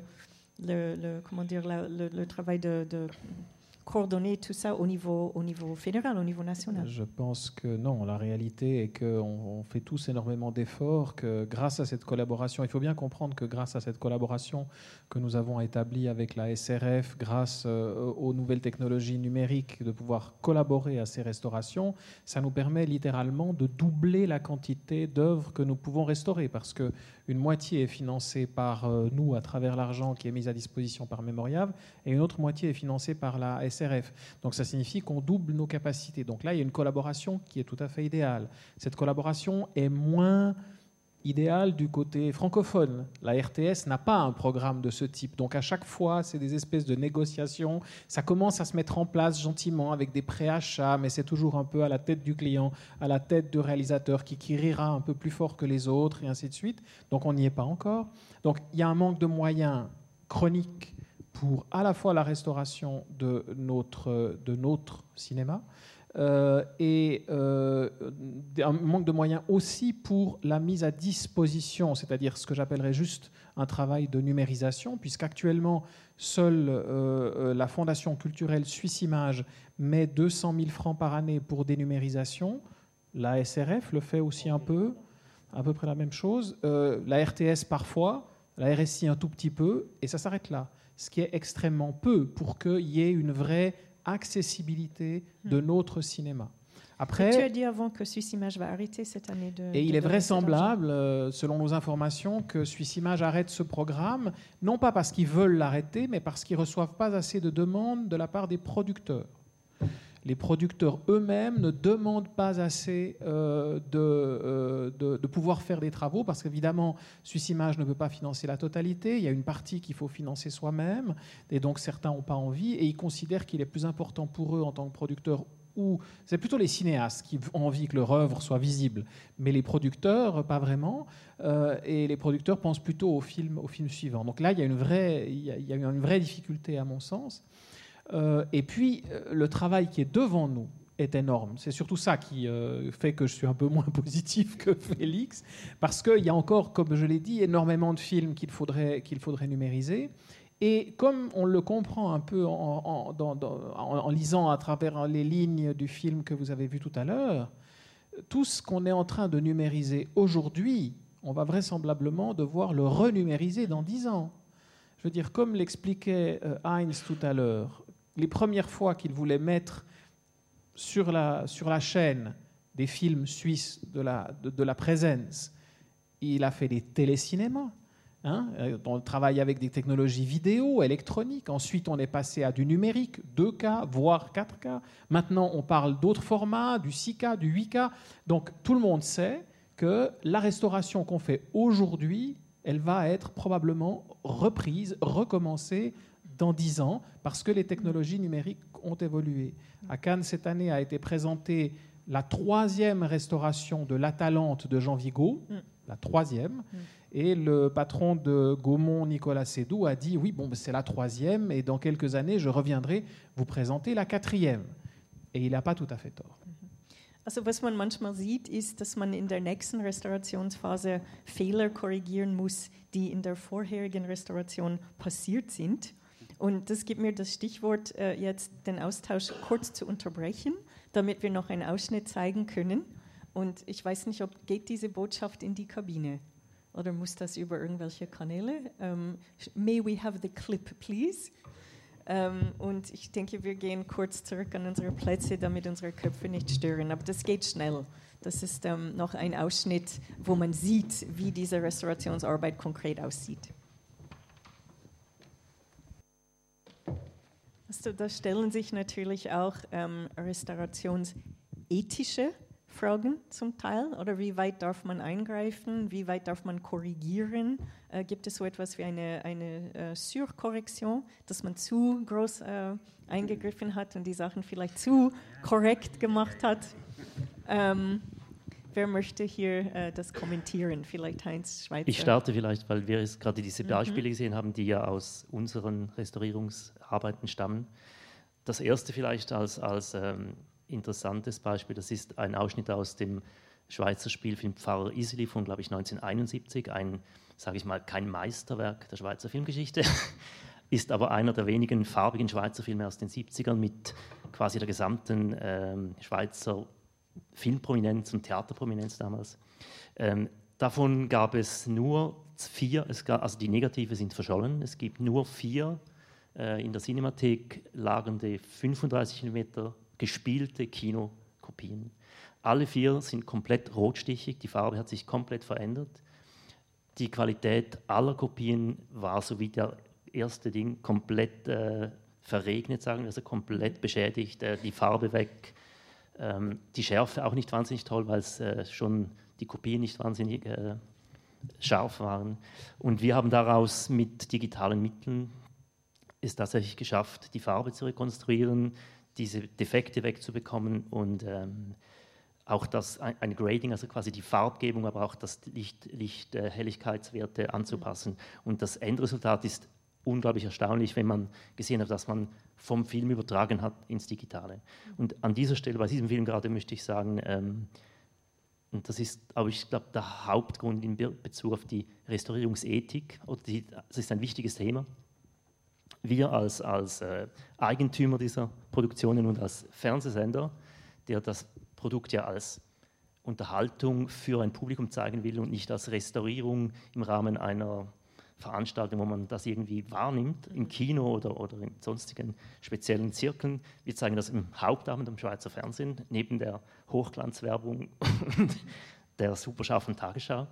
le travail de coordonner tout ça au niveau fédéral, au niveau national. Je pense que non. La réalité est qu'on fait tous énormément d'efforts, que grâce à cette collaboration, il faut bien comprendre que grâce à cette collaboration que nous avons établie avec la SRF, grâce aux nouvelles technologies numériques, de pouvoir collaborer à ces restaurations, ça nous permet littéralement de doubler la quantité d'œuvres que nous pouvons restaurer, parce qu'une moitié est financée par nous à travers l'argent qui est mis à disposition par Memorial, et une autre moitié est financée par la SRF. Donc ça signifie qu'on double nos capacités. Donc là, il y a une collaboration qui est tout à fait idéale. Cette collaboration est moins idéale du côté francophone. La RTS n'a pas un programme de ce type. Donc à chaque fois, c'est des espèces de négociations. Ça commence à se mettre en place gentiment avec des préachats, mais c'est toujours un peu à la tête du client, à la tête du réalisateur qui rira un peu plus fort que les autres, et ainsi de suite. Donc on n'y est pas encore. Donc il y a un manque de moyens chroniques pour à la fois la restauration de notre cinéma et un manque de moyens aussi pour la mise à disposition, c'est-à-dire ce que j'appellerais juste un travail de numérisation, puisqu'actuellement, seule la Fondation culturelle Suisse Images met 200 000 francs par année pour des numérisations. La SRF le fait aussi un peu, à peu près la même chose. La RTS parfois, la RSI un tout petit peu, et ça s'arrête là. Ce qui est extrêmement peu pour qu'il y ait une vraie accessibilité de notre cinéma. Après, et tu as dit avant que Suisse Images va arrêter cette année de... Et il est vraisemblable, selon nos informations, que Suisse Images arrête ce programme, non pas parce qu'ils veulent l'arrêter, mais parce qu'ils ne reçoivent pas assez de demandes de la part des producteurs. Les producteurs eux-mêmes ne demandent pas assez de pouvoir faire des travaux, parce qu'évidemment, Suisse Images ne peut pas financer la totalité. Il y a une partie qu'il faut financer soi-même, et donc certains n'ont pas envie, et ils considèrent qu'il est plus important pour eux en tant que producteurs, ou c'est plutôt les cinéastes qui ont envie que leur œuvre soit visible, mais les producteurs, pas vraiment, et les producteurs pensent plutôt au film suivant. Donc là, il y a une vraie difficulté, à mon sens. Et puis, le travail qui est devant nous est énorme. C'est surtout ça qui fait que je suis un peu moins positif que Félix, parce qu'il y a encore, comme je l'ai dit, énormément de films qu'il faudrait numériser. Et comme on le comprend un peu en lisant à travers les lignes du film que vous avez vu tout à l'heure, tout ce qu'on est en train de numériser aujourd'hui, on va vraisemblablement devoir le renumériser dans 10 ans. Je veux dire, comme l'expliquait Heinz tout à l'heure, les premières fois qu'il voulait mettre sur la chaîne des films suisses de la Présence, il a fait des télécinémas. On travaille avec des technologies vidéo, électroniques. Ensuite, on est passé à du numérique, 2K, voire 4K. Maintenant, on parle d'autres formats, du 6K, du 8K. Donc, tout le monde sait que la restauration qu'on fait aujourd'hui, elle va être probablement reprise, recommencée dans 10 ans, parce que les technologies numériques ont évolué. À Cannes, cette année, a été présentée la 3e restauration de l'Atalante de Jean Vigo, la 3e, et le patron de Gaumont, Nicolas Sédou, a dit « Oui, c'est la 3e, et dans quelques années, je reviendrai vous présenter la 4e. » Et il n'a pas tout à fait tort. Also was man manchmal sieht, ist, dass man in der nächsten Restaurationsphase Fehler korrigieren muss, die in der vorherigen Restauration passiert sind. Und das gibt mir das Stichwort, jetzt den Austausch kurz zu unterbrechen, damit wir noch einen Ausschnitt zeigen können. Und ich weiß nicht, geht diese Botschaft in die Kabine? Oder muss das über irgendwelche Kanäle? May we have the clip, please? Und ich denke, wir gehen kurz zurück an unsere Plätze, damit unsere Köpfe nicht stören. Aber das geht schnell. Das ist noch ein Ausschnitt, wo man sieht, wie diese Restaurationsarbeit konkret aussieht. Also, da stellen sich natürlich auch restaurationsethische Fragen zum Teil. Oder wie weit darf man eingreifen? Wie weit darf man korrigieren? Gibt es so etwas wie eine Surkorrektion, dass man zu groß eingegriffen hat und die Sachen vielleicht zu korrekt gemacht hat? Wer möchte hier das kommentieren? Vielleicht Heinz Schweizer. Ich starte vielleicht, weil wir jetzt gerade diese Beispiele gesehen haben, die ja aus unseren Restaurierungsarbeiten stammen. Das erste vielleicht als interessantes Beispiel, das ist ein Ausschnitt aus dem Schweizer Spielfilm Pfarrer Iseli von, glaube ich, 1971, ein, sage ich mal, kein Meisterwerk der Schweizer Filmgeschichte, ist aber einer der wenigen farbigen Schweizer Filme aus den 70ern mit quasi der gesamten Schweizer Filmprominenz und Theaterprominenz damals. Davon gab es nur 4, also die Negative sind verschollen, es gibt nur 4 in der Cinemathek lagernde 35 mm gespielte Kinokopien. Alle 4 sind komplett rotstichig, die Farbe hat sich komplett verändert. Die Qualität aller Kopien war, so wie der erste Ding, komplett verregnet, sagen wir, also komplett beschädigt, die Farbe weg, die Schärfe auch nicht wahnsinnig toll, weil es schon die Kopien nicht wahnsinnig scharf waren. Und wir haben daraus mit digitalen Mitteln es tatsächlich geschafft, die Farbe zu rekonstruieren, diese Defekte wegzubekommen und auch ein Grading, also quasi die Farbgebung, aber auch das Helligkeitswerte anzupassen. Und das Endresultat ist unglaublich erstaunlich, wenn man gesehen hat, dass man vom Film übertragen hat ins Digitale. Und an dieser Stelle, bei diesem Film gerade, möchte ich sagen, und das ist, aber ich glaube, der Hauptgrund in Bezug auf die Restaurierungsethik, das ist ein wichtiges Thema. Wir als Eigentümer dieser Produktionen und als Fernsehsender, der das Produkt ja als Unterhaltung für ein Publikum zeigen will und nicht als Restaurierung im Rahmen einer Veranstaltung, wo man das irgendwie wahrnimmt, im Kino oder in sonstigen speziellen Zirkeln. Wir zeigen das im Hauptabend am Schweizer Fernsehen, neben der Hochglanzwerbung und der superscharfen Tagesschau.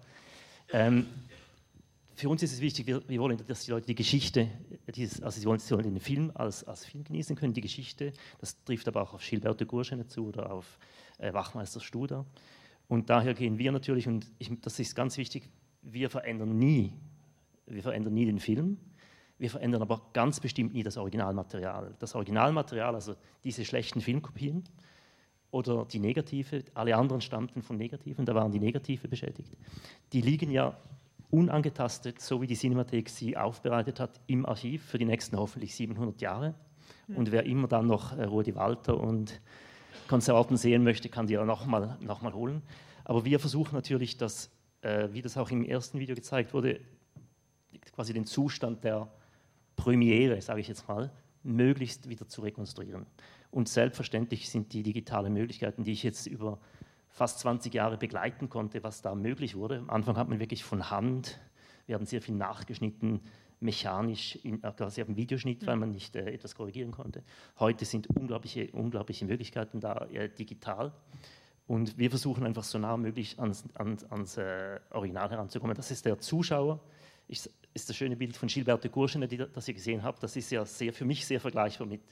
Für uns ist es wichtig, wir wollen, dass die Leute die Geschichte, sie wollen den Film als Film genießen können, die Geschichte. Das trifft aber auch auf Gilberto Gurschene zu oder auf Wachmeister Studer. Und daher gehen wir natürlich, und das ist ganz wichtig, wir verändern nie den Film, wir verändern aber ganz bestimmt nie das Originalmaterial. Das Originalmaterial, also diese schlechten Filmkopien oder die Negative, alle anderen stammten von Negativen, da waren die Negative beschädigt. Die liegen ja unangetastet, so wie die Cinemathek sie aufbereitet hat, im Archiv für die nächsten hoffentlich 700 Jahre. Und wer immer dann noch Rudi Walter und Konzerten sehen möchte, kann die ja noch mal holen. Aber wir versuchen natürlich, wie das auch im ersten Video gezeigt wurde, quasi den Zustand der Premiere, sage ich jetzt mal, möglichst wieder zu rekonstruieren. Und selbstverständlich sind die digitalen Möglichkeiten, die ich jetzt über fast 20 Jahre begleiten konnte, was da möglich wurde. Am Anfang hat man wirklich von Hand, wir haben sehr viel nachgeschnitten, mechanisch, quasi auf dem Videoschnitt, weil man nicht etwas korrigieren konnte. Heute sind unglaubliche Möglichkeiten da, digital. Und wir versuchen einfach so nah wie möglich ans Original heranzukommen. Das ist der Zuschauer. Ist das schöne Bild von Gilberto Gurschene, das ihr gesehen habt. Das ist ja für mich sehr vergleichbar mit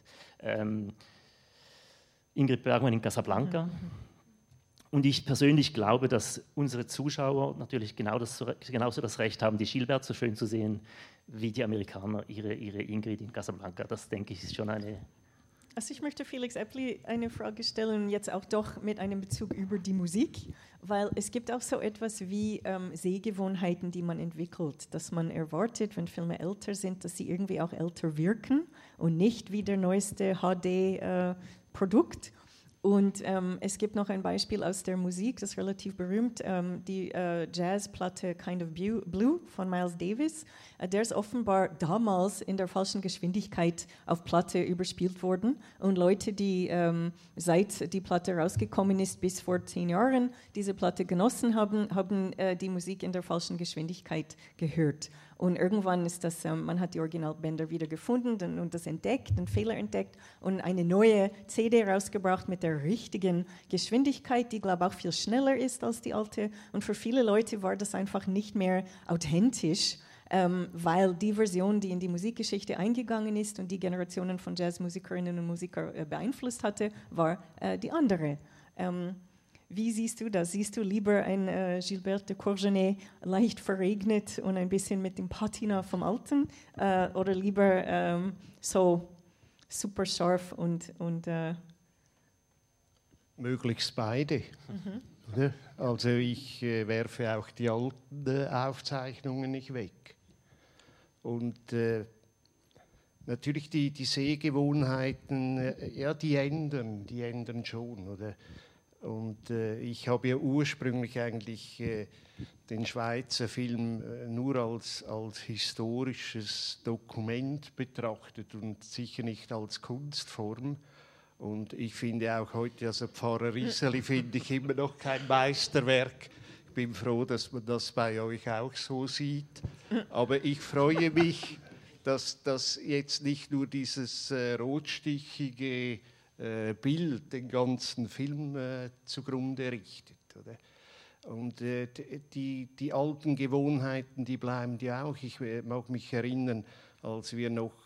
Ingrid Bergman in Casablanca. Und ich persönlich glaube, dass unsere Zuschauer natürlich genauso das Recht haben, die Gilbert so schön zu sehen, wie die Amerikaner ihre Ingrid in Casablanca. Das, denke ich, ist schon eine... Also ich möchte Felix Eppli eine Frage stellen, jetzt auch doch mit einem Bezug über die Musik, weil es gibt auch so etwas wie Sehgewohnheiten, die man entwickelt, dass man erwartet, wenn Filme älter sind, dass sie irgendwie auch älter wirken und nicht wie der neueste HD-Produkt. Und es gibt noch ein Beispiel aus der Musik, das ist relativ berühmt, die Jazzplatte Kind of Blue von Miles Davis. Der ist offenbar damals in der falschen Geschwindigkeit auf Platte überspielt worden. Und Leute, die seit die Platte rausgekommen ist, bis vor 10 Jahren diese Platte genossen haben, haben die Musik in der falschen Geschwindigkeit gehört. Und irgendwann ist das, man hat die Originalbänder wieder gefunden und das entdeckt, einen Fehler entdeckt und eine neue CD rausgebracht mit der richtigen Geschwindigkeit, die, glaube ich, auch viel schneller ist als die alte. Und für viele Leute war das einfach nicht mehr authentisch, weil die Version, die in die Musikgeschichte eingegangen ist und die Generationen von Jazzmusikerinnen und Musikern beeinflusst hatte, war die andere. Wie siehst du das? Siehst du lieber ein Gilberto Gurschene leicht verregnet und ein bisschen mit dem Patina vom Alten oder lieber so super scharf und Möglichst beide. Oder? Also ich werfe auch die alten Aufzeichnungen nicht weg. Und natürlich die Sehgewohnheiten, ja, die ändern schon. Oder? Und ich habe ja ursprünglich eigentlich den Schweizer Film nur als historisches Dokument betrachtet und sicher nicht als Kunstform. Und ich finde auch heute, also Pfarrer Iseli finde ich immer noch kein Meisterwerk. Ich bin froh, dass man das bei euch auch so sieht. Aber ich freue mich, dass das jetzt nicht nur dieses rotstichige Bild den ganzen Film zugrunde richtet. Oder? Und die alten Gewohnheiten, die bleiben ja auch. Ich mag mich erinnern, als wir noch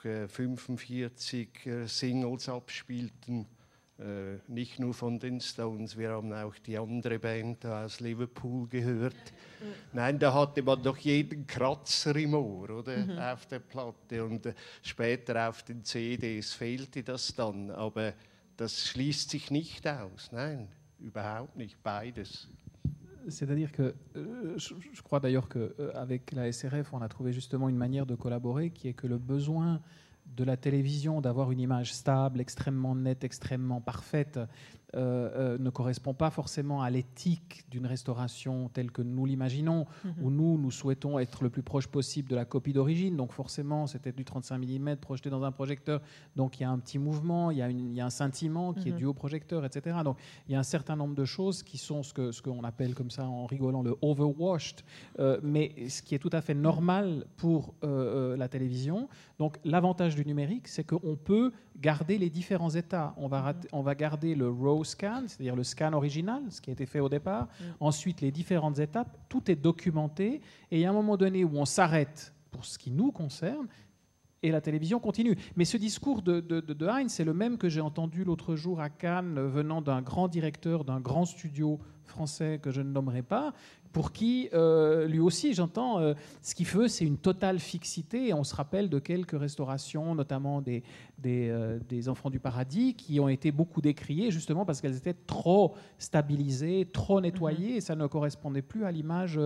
45 Singles abspielten, nicht nur von den Stones, wir haben auch die andere Band aus Liverpool gehört. Nein, da hatte man doch jeden Kratzer im Ohr, oder? Auf der Platte. Und später auf den CDs fehlte das dann. Aber das schließt sich nicht aus. Nein, überhaupt nicht. Beides. C'est-à-dire que je crois d'ailleurs qu'avec la SRF, on a trouvé justement une manière de collaborer qui est que le besoin de la télévision d'avoir une image stable, extrêmement nette, extrêmement parfaite, ne correspond pas forcément à l'éthique d'une restauration telle que nous l'imaginons, où nous souhaitons être le plus proche possible de la copie d'origine. Donc forcément, c'était du 35 mm projeté dans un projecteur. Donc il y a un petit mouvement, il y a un scintillement qui est dû au projecteur, etc. Donc il y a un certain nombre de choses qui sont ce qu'on appelle comme ça en rigolant le overwashed, mais ce qui est tout à fait normal pour la télévision. Donc l'avantage du numérique, c'est qu'on peut garder les différents états. On va garder le raw scan, c'est-à-dire le scan original, ce qui a été fait au départ. Ensuite, les différentes étapes, tout est documenté. Et il y a un moment donné où on s'arrête pour ce qui nous concerne et la télévision continue. Mais ce discours de Heinz, c'est le même que j'ai entendu l'autre jour à Cannes, venant d'un grand directeur d'un grand studio français que je ne nommerai pas, pour qui, lui aussi, j'entends, ce qu'il veut, c'est une totale fixité. Et on se rappelle de quelques restaurations, notamment des Enfants du Paradis, qui ont été beaucoup décriées, justement parce qu'elles étaient trop stabilisées, trop nettoyées, et ça ne correspondait plus à l'image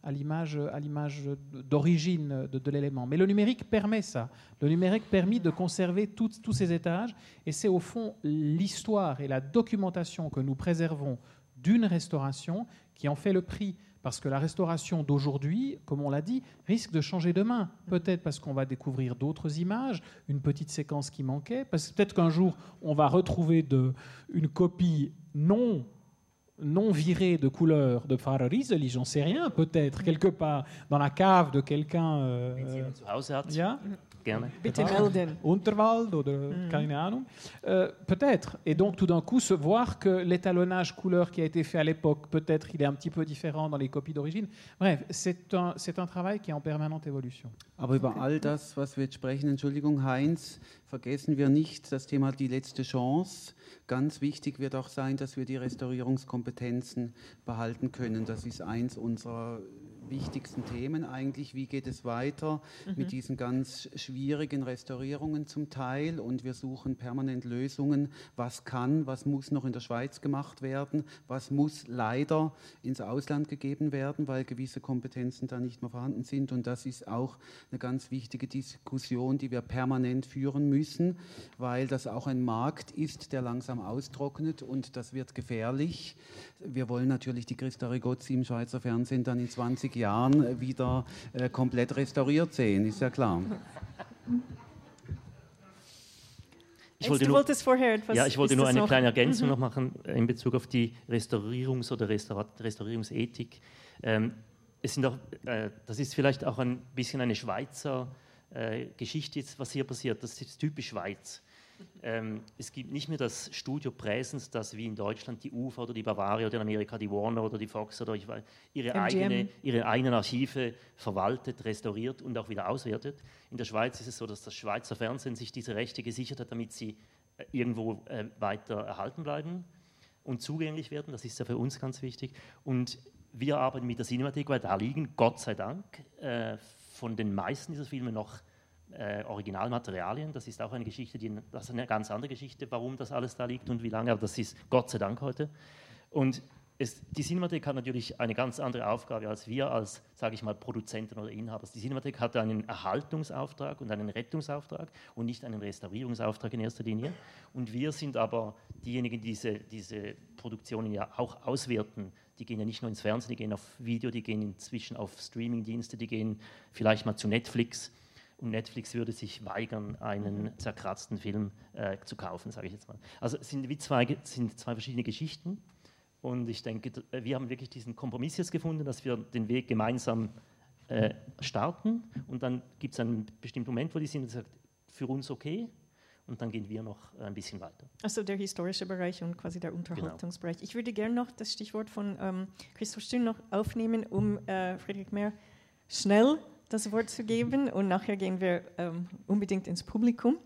d'origine de l'élément. Mais le numérique permet ça. Le numérique permet de conserver tous ces étages, et c'est au fond l'histoire et la documentation que nous préservons d'une restauration qui en fait le prix. Parce que la restauration d'aujourd'hui, comme on l'a dit, risque de changer demain. Peut-être parce qu'on va découvrir d'autres images, une petite séquence qui manquait. Peut-être qu'un jour, on va retrouver une copie non virée de couleur de Pfarrer Iseli, j'en sais rien, peut-être, quelque part, dans la cave de quelqu'un. Ja? Gerne. Bitte melden. Unterwald oder keine Ahnung. Peut-être. Et donc, tout d'un coup, se voir que l'étalonnage couleur qui a été fait à l'époque, peut-être il est un petit peu différent dans les copies d'origine. Bref, c'est un travail qui est en permanente évolution. Aber über all das, was wir jetzt sprechen, Entschuldigung, Heinz, vergessen wir nicht das Thema die letzte Chance. Ganz wichtig wird auch sein, dass wir die Restaurierungskompetenzen behalten können. Das ist eins unserer wichtigsten Themen eigentlich. Wie geht es weiter mit diesen ganz schwierigen Restaurierungen zum Teil? Und wir suchen permanent Lösungen. Was kann, was muss noch in der Schweiz gemacht werden? Was muss leider ins Ausland gegeben werden, weil gewisse Kompetenzen da nicht mehr vorhanden sind? Und das ist auch eine ganz wichtige Diskussion, die wir permanent führen müssen, weil das auch ein Markt ist, der langsam austrocknet, und das wird gefährlich. Wir wollen natürlich die Christa Rigozzi im Schweizer Fernsehen dann in 20 Jahren wieder komplett restauriert sehen, ist ja klar. Ich wollte nur eine kleine Ergänzung noch machen in Bezug auf die Restaurierungs- oder Restaurierungsethik. Das ist vielleicht auch ein bisschen eine Schweizer Geschichte, was hier passiert. Das ist typisch Schweiz. Es gibt nicht mehr das Studio Präsens, das wie in Deutschland die UFA oder die Bavaria oder in Amerika die Warner oder die Fox oder ihre eigenen Archive verwaltet, restauriert und auch wieder auswertet. In der Schweiz ist es so, dass das Schweizer Fernsehen sich diese Rechte gesichert hat, damit sie irgendwo weiter erhalten bleiben und zugänglich werden. Das ist ja für uns ganz wichtig. Und wir arbeiten mit der Cinemathek, weil da liegen, Gott sei Dank, von den meisten dieser Filme noch Originalmaterialien. Das ist auch eine Geschichte, das ist eine ganz andere Geschichte, warum das alles da liegt und wie lange, aber das ist Gott sei Dank heute. Und die Cinemathek hat natürlich eine ganz andere Aufgabe als wir als, sage ich mal, Produzenten oder Inhaber. Die Cinemathek hat einen Erhaltungsauftrag und einen Rettungsauftrag und nicht einen Restaurierungsauftrag in erster Linie. Und wir sind aber diejenigen, die diese Produktionen ja auch auswerten. Die gehen ja nicht nur ins Fernsehen, die gehen auf Video, die gehen inzwischen auf Streamingdienste, die gehen vielleicht mal zu Netflix. Und Netflix würde sich weigern, einen zerkratzten Film zu kaufen, sage ich jetzt mal. Also es sind zwei verschiedene Geschichten. Und ich denke, wir haben wirklich diesen Kompromiss jetzt gefunden, dass wir den Weg gemeinsam starten. Und dann gibt es einen bestimmten Moment, wo die sind, sagt, für uns okay. Und dann gehen wir noch ein bisschen weiter. Also der historische Bereich und quasi der Unterhaltungsbereich. Genau. Ich würde gerne noch das Stichwort von Christoph Stün noch aufnehmen, um Friedrich Mehr schnell das Wort zu geben. Und nachher gehen wir unbedingt ins Publikum.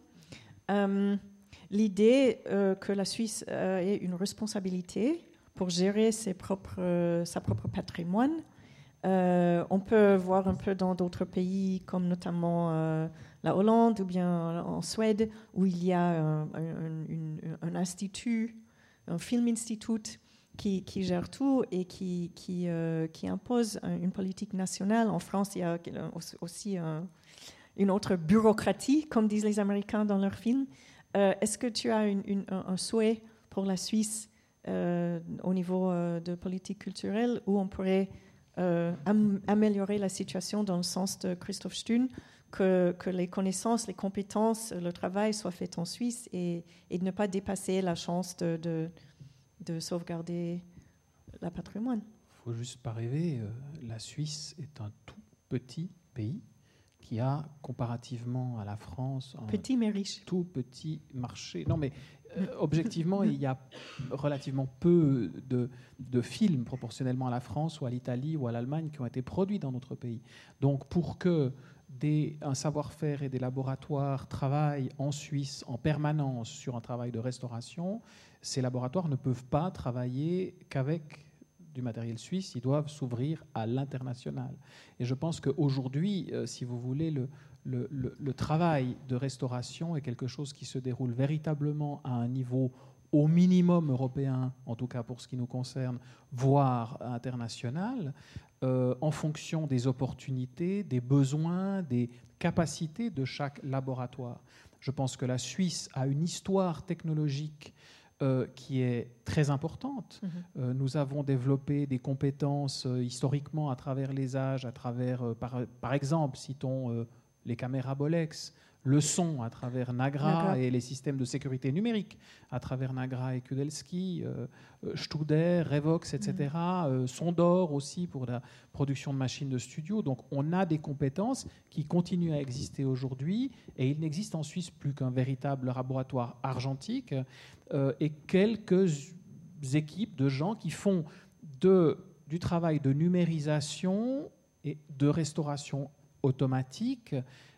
L'idée que la Suisse ait une responsabilité pour gérer sa propre patrimoine. On peut voir un peu dans d'autres pays, comme notamment la Hollande ou bien en Suède, où il y a un institut, un film-institut qui gère tout et qui impose une politique nationale. En France, il y a aussi une autre bureaucratie, comme disent les Américains dans leurs films. Est-ce que tu as un souhait pour la Suisse au niveau de politique culturelle où on pourrait améliorer la situation dans le sens de Christoph Stün, que les connaissances, les compétences, le travail soient faits en Suisse et de ne pas dépasser la chance de sauvegarder le patrimoine? Il ne faut juste pas rêver. La Suisse est un tout petit pays qui a, comparativement à la France, un petit mais riche. Tout petit marché. Non, mais objectivement, il y a relativement peu de films proportionnellement à la France ou à l'Italie ou à l'Allemagne qui ont été produits dans notre pays. Donc, pour que un savoir-faire et des laboratoires travaillent en Suisse en permanence sur un travail de restauration, ces laboratoires ne peuvent pas travailler qu'avec du matériel suisse, ils doivent s'ouvrir à l'international. Et je pense qu'aujourd'hui, si vous voulez, le travail de restauration est quelque chose qui se déroule véritablement à un niveau au minimum européen, en tout cas pour ce qui nous concerne, voire international, en fonction des opportunités, des besoins, des capacités de chaque laboratoire. Je pense que la Suisse a une histoire technologique qui est très importante. Nous avons développé des compétences historiquement à travers les âges, à travers, par exemple, citons les caméras Bolex, le son à travers Nagra et les systèmes de sécurité numérique à travers Nagra et Kudelski, Studer, Revox, etc., Sondor aussi pour la production de machines de studio. Donc on a des compétences qui continuent à exister aujourd'hui et il n'existe en Suisse plus qu'un véritable laboratoire argentique et quelques équipes de gens qui font du travail de numérisation et de restauration automatique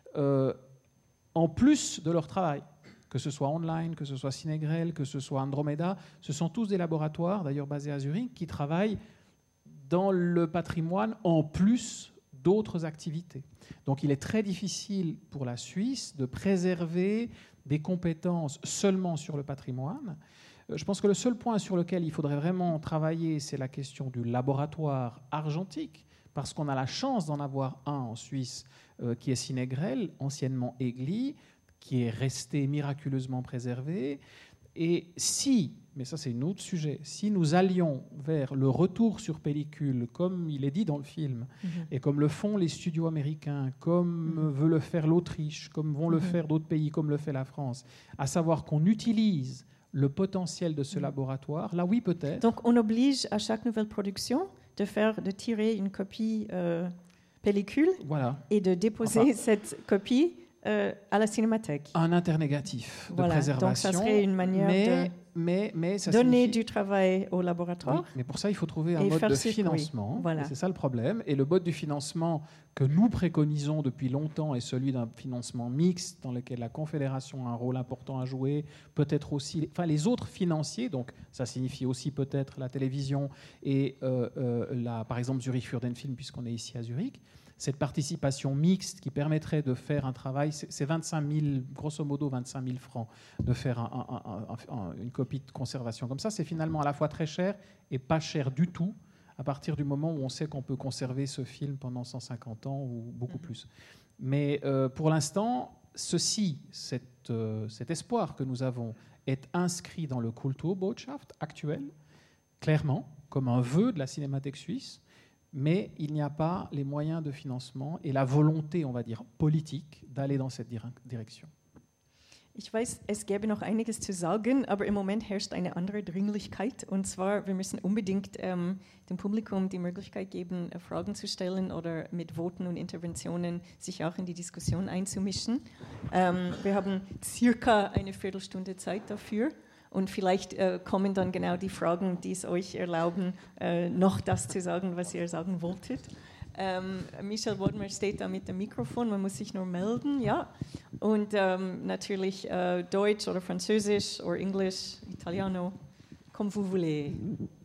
en plus de leur travail, que ce soit online, que ce soit Cinegrel, que ce soit Andromeda. Ce sont tous des laboratoires, d'ailleurs basés à Zurich, qui travaillent dans le patrimoine en plus d'autres activités. Donc il est très difficile pour la Suisse de préserver des compétences seulement sur le patrimoine. Je pense que le seul point sur lequel il faudrait vraiment travailler, c'est la question du laboratoire argentique, parce qu'on a la chance d'en avoir un en Suisse qui est Cinegrel, anciennement Egli, qui est resté miraculeusement préservé. Et si, mais ça c'est un autre sujet, si nous allions vers le retour sur pellicule, comme il est dit dans le film, et comme le font les studios américains, comme veut le faire l'Autriche, comme vont le faire d'autres pays, comme le fait la France, à savoir qu'on utilise le potentiel de ce laboratoire, là oui peut-être. Donc on oblige à chaque nouvelle production de tirer une copie pellicule et de déposer cette copie à la cinémathèque. Un internégatif de préservation. Donc ça serait une manière de ça donner du travail au laboratoire. Oui, mais pour ça, il faut trouver un mode de financement. Voilà. C'est ça le problème. Et le mode du financement que nous préconisons depuis longtemps est celui d'un financement mixte dans lequel la Confédération a un rôle important à jouer, peut-être aussi les autres financiers, donc ça signifie aussi peut-être la télévision et par exemple Zurich Fürdenfilm, puisqu'on est ici à Zurich. cette participation mixte qui permettrait de faire un travail, c'est 25 000, grosso modo 25 000 francs, de faire une copie de conservation comme ça, c'est finalement à la fois très cher et pas cher du tout, à partir du moment où on sait qu'on peut conserver ce film pendant 150 ans ou beaucoup plus. Mais pour l'instant, cet espoir que nous avons est inscrit dans le Kulturbotschaft actuel, clairement, comme un vœu de la Cinémathèque suisse, mais il n'y a pas les moyens de financement et la volonté, on va dire, politique d'aller dans cette direction. Ich weiß, es gäbe noch einiges zu sagen, aber im Moment herrscht eine andere Dringlichkeit. Und zwar, wir müssen unbedingt dem Publikum die Möglichkeit geben, Fragen zu stellen oder mit Voten und Interventionen sich auch in die Diskussion einzumischen. Wir haben circa eine Viertelstunde Zeit dafür. Und vielleicht kommen dann genau die Fragen, die es euch erlauben, noch das zu sagen, was ihr sagen wolltet. Michel Bodmer steht da mit dem Mikrofon, man muss sich nur melden, ja. Und natürlich Deutsch oder Französisch oder Englisch, Italiano, comme vous voulez.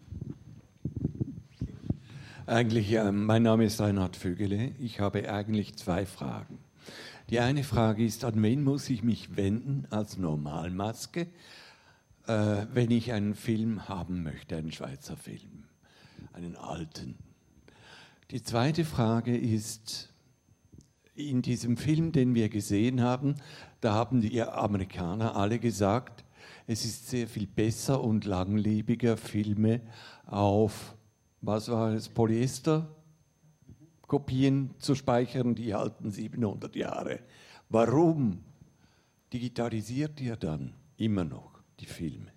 Eigentlich, mein Name ist Reinhard Vögele. Ich habe eigentlich 2 Fragen. Die eine Frage ist, an wen muss ich mich wenden als Normalmaske, wenn ich einen Film haben möchte, einen Schweizer Film, einen alten. Die zweite Frage ist, in diesem Film, den wir gesehen haben, da haben die Amerikaner alle gesagt, es ist sehr viel besser und langlebiger, Filme auf, was war es, Polyester-Kopien zu speichern, die halten 700 Jahre. Warum digitalisiert ihr dann immer noch die Filme?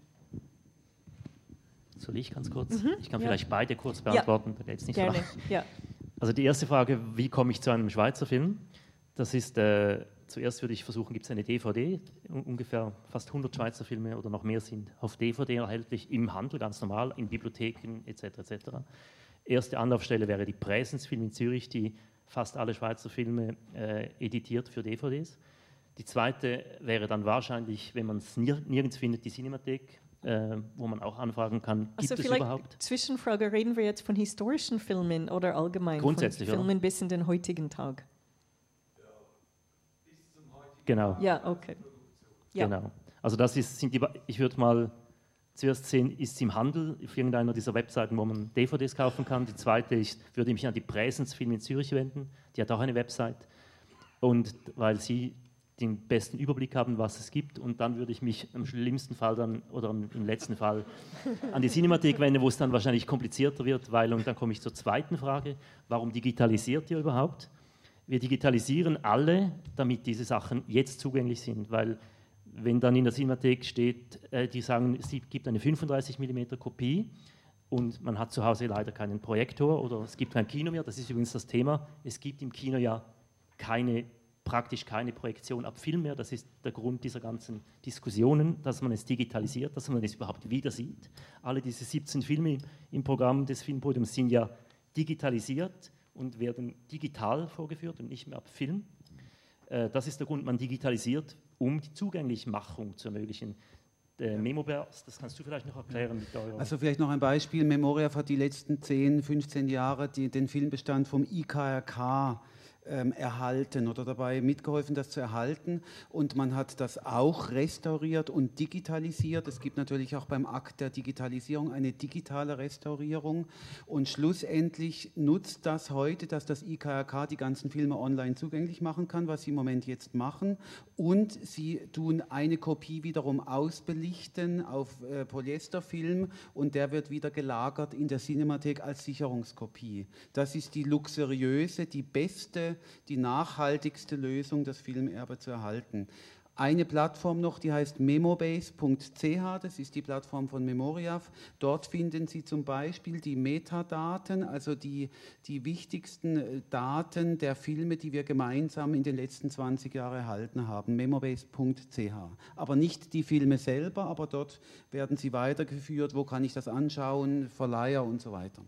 Soll ich ganz kurz? Ich kann vielleicht beide kurz beantworten. Ja, gerne. Ja. Also die erste Frage, wie komme ich zu einem Schweizer Film? Das ist, zuerst würde ich versuchen, gibt es eine DVD, ungefähr fast 100 Schweizer Filme oder noch mehr sind auf DVD erhältlich, im Handel, ganz normal, in Bibliotheken etc. etc. Erste Anlaufstelle wäre die Präsensfilm in Zürich, die fast alle Schweizer Filme editiert für DVDs. Die zweite wäre dann wahrscheinlich, wenn man es nirgends findet, die Cinemathek, wo man auch anfragen kann, gibt es überhaupt? Zwischenfrage, reden wir jetzt von historischen Filmen oder allgemein grundsätzlich, von Filmen oder? Bis in den heutigen Tag? Ja, bis zum heutigen Genau. Ja, okay. Ja. Genau. Also das sind ich würde mal zuerst sehen, ist es im Handel auf irgendeiner dieser Webseiten, wo man DVDs kaufen kann. Die zweite ist, würde ich mich an die Präsensfilm in Zürich wenden, die hat auch eine Website. Und weil sie den besten Überblick haben, was es gibt, und dann würde ich mich im schlimmsten Fall dann, oder im letzten Fall, an die Cinemathek wenden, wo es dann wahrscheinlich komplizierter wird, weil, und dann komme ich zur zweiten Frage, warum digitalisiert ihr überhaupt? Wir digitalisieren alle, damit diese Sachen jetzt zugänglich sind, weil wenn dann in der Cinemathek steht, die sagen, es gibt eine 35 mm Kopie und man hat zu Hause leider keinen Projektor oder es gibt kein Kino mehr, das ist übrigens das Thema, es gibt im Kino ja praktisch keine Projektion ab Film mehr. Das ist der Grund dieser ganzen Diskussionen, dass man es digitalisiert, dass man es überhaupt wieder sieht. Alle diese 17 Filme im Programm des Filmpodiums sind ja digitalisiert und werden digital vorgeführt und nicht mehr ab Film. Das ist der Grund, man digitalisiert, um die Zugänglichmachung zu ermöglichen. Memoverse, das kannst du vielleicht noch erklären mit eurer... Also vielleicht noch ein Beispiel. Memoriaf hat die letzten 10, 15 Jahre den Filmbestand vom IKRK erhalten oder dabei mitgeholfen, das zu erhalten. Und man hat das auch restauriert und digitalisiert. Es gibt natürlich auch beim Akt der Digitalisierung eine digitale Restaurierung. Und schlussendlich nutzt das heute, dass das IKRK die ganzen Filme online zugänglich machen kann, was sie im Moment jetzt machen. Und sie tun eine Kopie wiederum ausbelichten auf Polyesterfilm und der wird wieder gelagert in der Cinemathek als Sicherungskopie. Das ist die luxuriöse, die beste, die nachhaltigste Lösung, das Filmerbe zu erhalten. Eine Plattform noch, die heißt memobase.ch, das ist die Plattform von Memoriaf. Dort finden Sie zum Beispiel die Metadaten, also die wichtigsten Daten der Filme, die wir gemeinsam in den letzten 20 Jahren erhalten haben. Memobase.ch. Aber nicht die Filme selber, aber dort werden sie weitergeführt, wo kann ich das anschauen, Verleiher und so weiter.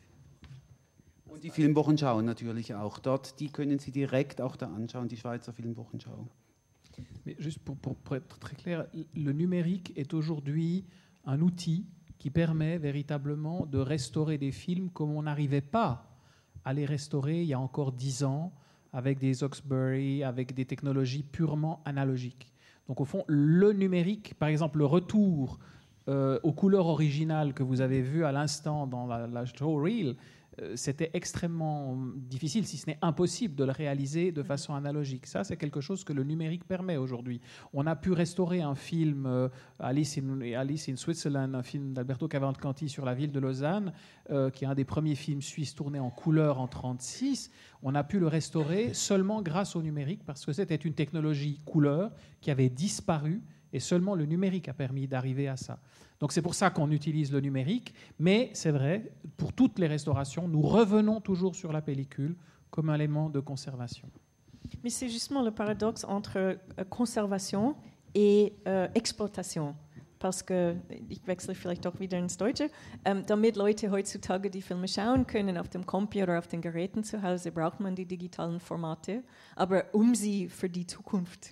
Und die Filmwochenschau natürlich auch. Dort, die können Sie direkt auch da anschauen, die Schweizer Filmwochenschau. Mais juste pour être très clair, le numérique est aujourd'hui un outil qui permet véritablement de restaurer des films comme on n'arrivait pas à les restaurer il y a encore 10 ans avec des Hawkesbury, avec des technologies purement analogiques. Donc au fond, le numérique, par exemple, le retour aux couleurs originales que vous avez vues à l'instant dans la showreel, c'était extrêmement difficile, si ce n'est impossible, de le réaliser de façon analogique. Ça, c'est quelque chose que le numérique permet aujourd'hui. On a pu restaurer un film, Alice in Switzerland, un film d'Alberto Cavalcanti sur la ville de Lausanne, qui est un des premiers films suisses tournés en couleur en 1936. On a pu le restaurer seulement grâce au numérique, parce que c'était une technologie couleur qui avait disparu, et seulement le numérique a permis d'arriver à ça. Donc c'est pour ça qu'on utilise le numérique, mais c'est vrai, pour toutes les restaurations, nous revenons toujours sur la pellicule comme élément de conservation. Mais c'est justement le paradoxe entre conservation et exploitation. Parce que, ich wechsle vielleicht doch wieder ins Deutsche, damit Leute heutzutage die Filme schauen können auf dem Computer oder auf den Geräten zu Hause, braucht man die digitalen Formate. Aber sie für die Zukunft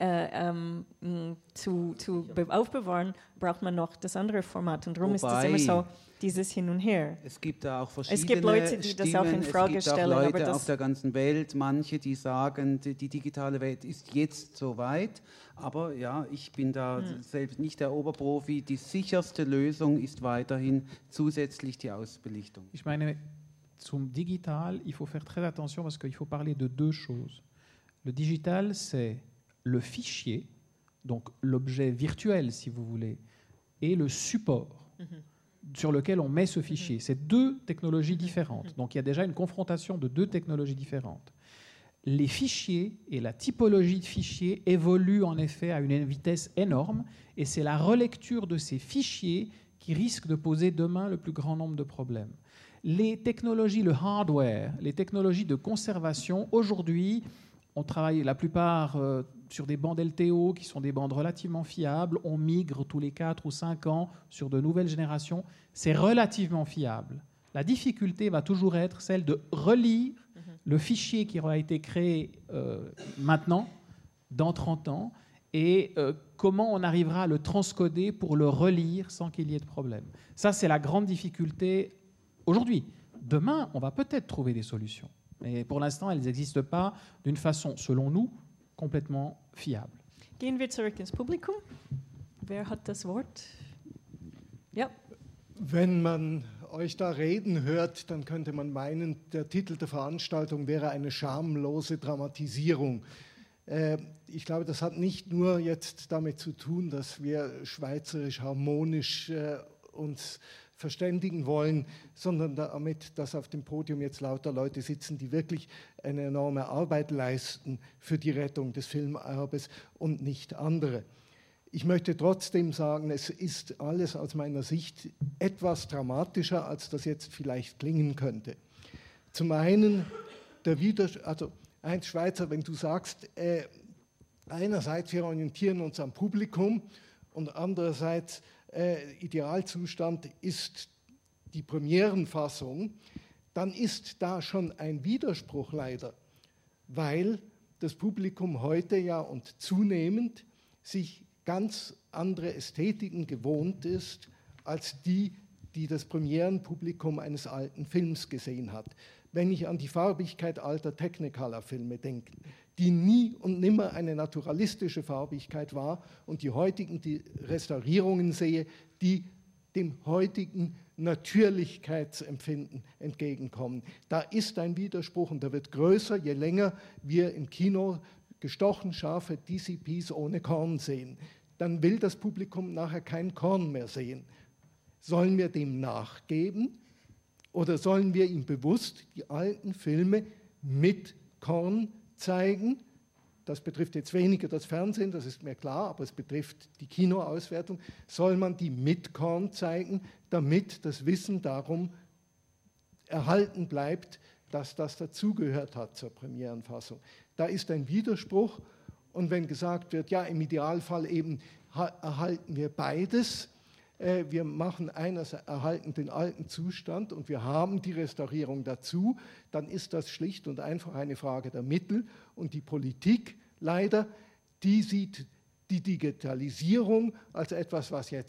aufbewahren, braucht man noch das andere Format. Und darum ist es immer so, dieses Hin und Her. Es gibt da auch verschiedene es gibt Leute, die das auch in Frage stellen. Es gibt auch Leute auf der ganzen Welt, manche, die sagen, die digitale Welt ist jetzt so weit. Aber ja, ich bin da selbst nicht der Oberprofi. Die sicherste Lösung ist weiterhin zusätzlich die Ausbelichtung. Ich meine, zum Digital, il faut faire très attention parce qu'il faut parler de deux choses. Le digital, c'est le fichier, donc l'objet virtuel, si vous voulez, et le support sur lequel on met ce fichier. C'est deux technologies différentes. Donc il y a déjà une confrontation de deux technologies différentes. Les fichiers et la typologie de fichiers évoluent en effet à une vitesse énorme, et c'est la relecture de ces fichiers qui risque de poser demain le plus grand nombre de problèmes. Les technologies, le hardware, les technologies de conservation, aujourd'hui, on travaille la plupart sur des bandes LTO qui sont des bandes relativement fiables. On migre tous les 4 ou 5 ans sur de nouvelles générations. C'est relativement fiable. La difficulté va toujours être celle de relire le fichier qui aura été créé maintenant, dans 30 ans, et comment on arrivera à le transcoder pour le relire sans qu'il y ait de problème. Ça, c'est la grande difficulté aujourd'hui. Demain, on va peut-être trouver des solutions. Mais pour l'instant, elles n'existent pas d'une façon, selon nous, complètement fiable. Gehen wir zurück ins Publikum. Wer hat das Wort? Ja. Wenn man euch da reden hört, dann könnte man meinen, der Titel der Veranstaltung wäre eine schamlose Dramatisierung. Ich glaube, das hat nicht nur jetzt damit zu tun, dass wir schweizerisch harmonisch uns verständigen wollen, sondern damit, dass auf dem Podium jetzt lauter Leute sitzen, die wirklich eine enorme Arbeit leisten für die Rettung des Filmerbes und nicht andere. Ich möchte trotzdem sagen, es ist alles aus meiner Sicht etwas dramatischer, als das jetzt vielleicht klingen könnte. Zum einen, Heinz Schweizer, wenn du sagst, einerseits wir orientieren uns am Publikum und andererseits Idealzustand ist die Premierenfassung, dann ist da schon ein Widerspruch leider, weil das Publikum heute ja und zunehmend sich ganz andere Ästhetiken gewohnt ist, als die das Premierenpublikum eines alten Films gesehen hat. Wenn ich an die Farbigkeit alter Technicolor-Filme denke, die nie und nimmer eine naturalistische Farbigkeit war, und die heutigen die Restaurierungen sehe, die dem heutigen Natürlichkeitsempfinden entgegenkommen. Da ist ein Widerspruch und der wird größer, je länger wir im Kino gestochen scharfe DCPs ohne Korn sehen. Dann will das Publikum nachher kein Korn mehr sehen. Sollen wir dem nachgeben oder sollen wir ihm bewusst die alten Filme mit Korn zeigen? Das betrifft jetzt weniger das Fernsehen, das ist mir klar, aber es betrifft die Kinoauswertung. Soll man die mit Korn zeigen, damit das Wissen darum erhalten bleibt, dass das dazugehört hat zur Premierenfassung? Da ist ein Widerspruch, und wenn gesagt wird, ja, im Idealfall eben erhalten wir beides, wir erhalten den alten Zustand und wir haben die Restaurierung dazu, dann ist das schlicht und einfach eine Frage der Mittel. Und die Politik leider, die sieht die Digitalisierung als etwas, was jetzt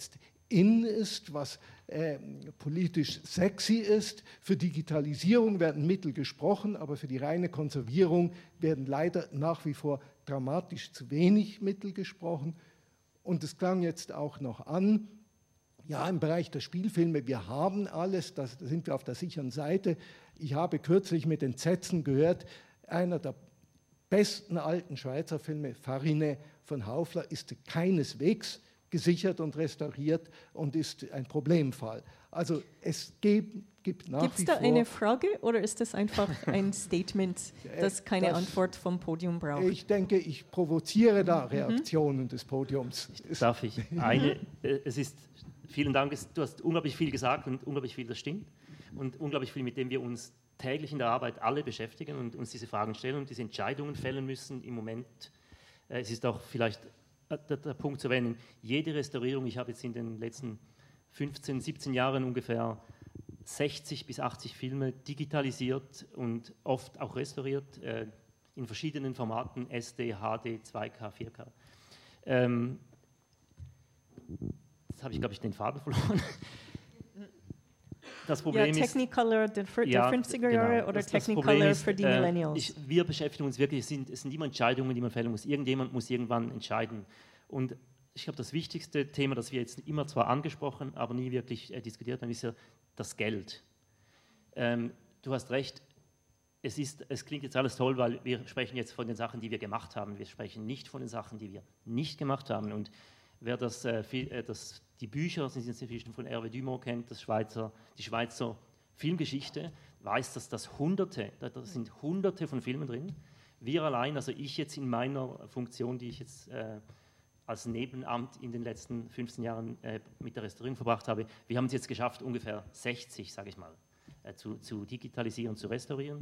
in ist, was politisch sexy ist. Für Digitalisierung werden Mittel gesprochen, aber für die reine Konservierung werden leider nach wie vor dramatisch zu wenig Mittel gesprochen. Und es klang jetzt auch noch an, ja, im Bereich der Spielfilme, wir haben alles, da sind wir auf der sicheren Seite. Ich habe kürzlich mit Entsetzen gehört, einer der besten alten Schweizer Filme, Farine von Haufler, ist keineswegs gesichert und restauriert und ist ein Problemfall. Also es gibt nach wie vor... Gibt es da eine Frage oder ist das einfach ein Statement, das keine Antwort vom Podium braucht? Ich denke, ich provoziere da Reaktionen des Podiums. Darf ich? Vielen Dank, du hast unglaublich viel gesagt und unglaublich viel, das stimmt. Und unglaublich viel, mit dem wir uns täglich in der Arbeit alle beschäftigen und uns diese Fragen stellen und diese Entscheidungen fällen müssen im Moment. Es ist auch vielleicht der Punkt zu erwähnen, jede Restaurierung, ich habe jetzt in den letzten 15, 17 Jahren ungefähr 60 bis 80 Filme digitalisiert und oft auch restauriert, in verschiedenen Formaten, SD, HD, 2K, 4K. Jetzt habe ich, glaube ich, den Faden verloren. Das Problem ja, Technicolor der 50er Jahre oder Technicolor für die Millennials? Wir beschäftigen uns wirklich, es sind immer Entscheidungen, die man fällen muss. Irgendjemand muss irgendwann entscheiden. Und ich glaube, das wichtigste Thema, das wir jetzt immer zwar angesprochen, aber nie wirklich diskutiert haben, ist ja das Geld. Du hast recht, es klingt jetzt alles toll, weil wir sprechen jetzt von den Sachen, die wir gemacht haben. Wir sprechen nicht von den Sachen, die wir nicht gemacht haben. Und wer die Bücher von Hervé Dumont kennt, die Schweizer Filmgeschichte, weiß, dass da sind Hunderte von Filmen drin. Wir allein, also ich jetzt in meiner Funktion, die ich jetzt als Nebenamt in den letzten 15 Jahren mit der Restaurierung verbracht habe, wir haben es jetzt geschafft, ungefähr 60, sage ich mal, zu digitalisieren, zu restaurieren.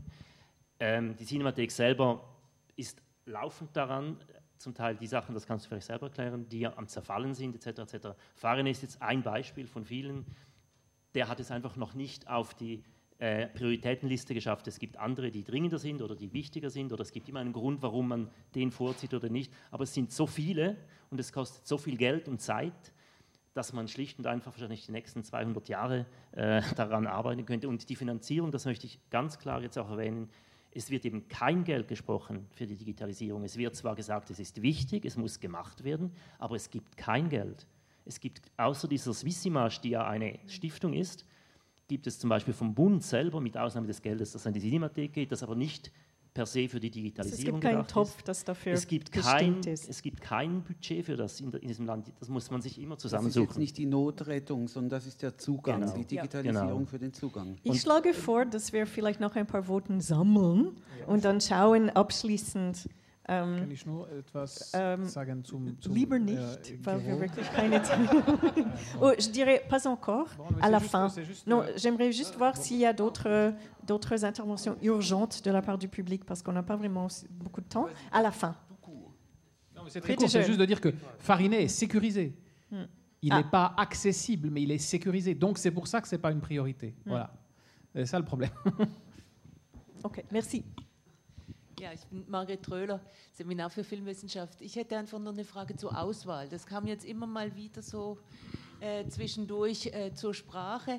Die Cinemathek selber ist laufend daran, zum Teil die Sachen, das kannst du vielleicht selber erklären, die am Zerfallen sind, etc. etc. Farine ist jetzt ein Beispiel von vielen, der hat es einfach noch nicht auf die Prioritätenliste geschafft. Es gibt andere, die dringender sind oder die wichtiger sind oder es gibt immer einen Grund, warum man den vorzieht oder nicht, aber es sind so viele und es kostet so viel Geld und Zeit, dass man schlicht und einfach wahrscheinlich die nächsten 200 Jahre daran arbeiten könnte. Und die Finanzierung, das möchte ich ganz klar jetzt auch erwähnen, es wird eben kein Geld gesprochen für die Digitalisierung. Es wird zwar gesagt, es ist wichtig, es muss gemacht werden, aber es gibt kein Geld. Es gibt außer dieser Swissimage, die ja eine Stiftung ist, gibt es zum Beispiel vom Bund selber, mit Ausnahme des Geldes, das an die Cinemathek geht, das aber nicht per se für die Digitalisierung gedacht ist. Es gibt keinen Topf, das dafür bestimmt ist. Es gibt kein Budget für das in diesem Land. Das muss man sich immer zusammensuchen. Das ist jetzt nicht die Notrettung, sondern das ist der Zugang, genau. Die Digitalisierung für den Zugang. Ich schlage vor, dass wir vielleicht noch ein paar Voten sammeln und dann schauen abschließend. Kann ich nur etwas sagen zum lieber nicht, weil wir wirklich keine Zeit haben. Oh, je dirais pas encore, à la fin. Non, j'aimerais juste voir s'il y a d'autres interventions urgentes de la part du public, parce qu'on n'a pas vraiment beaucoup de temps. À la fin. Non, mais c'est très court, c'est juste de dire que Farinet est sécurisé. Il n'est pas accessible, mais il est sécurisé. Donc c'est pour ça que ce n'est pas une priorité. Voilà. C'est ça le problème. Ok, merci. Ja, ich bin Margret Tröhler, Seminar für Filmwissenschaft. Ich hätte einfach nur eine Frage zur Auswahl. Das kam jetzt immer mal wieder so zwischendurch zur Sprache.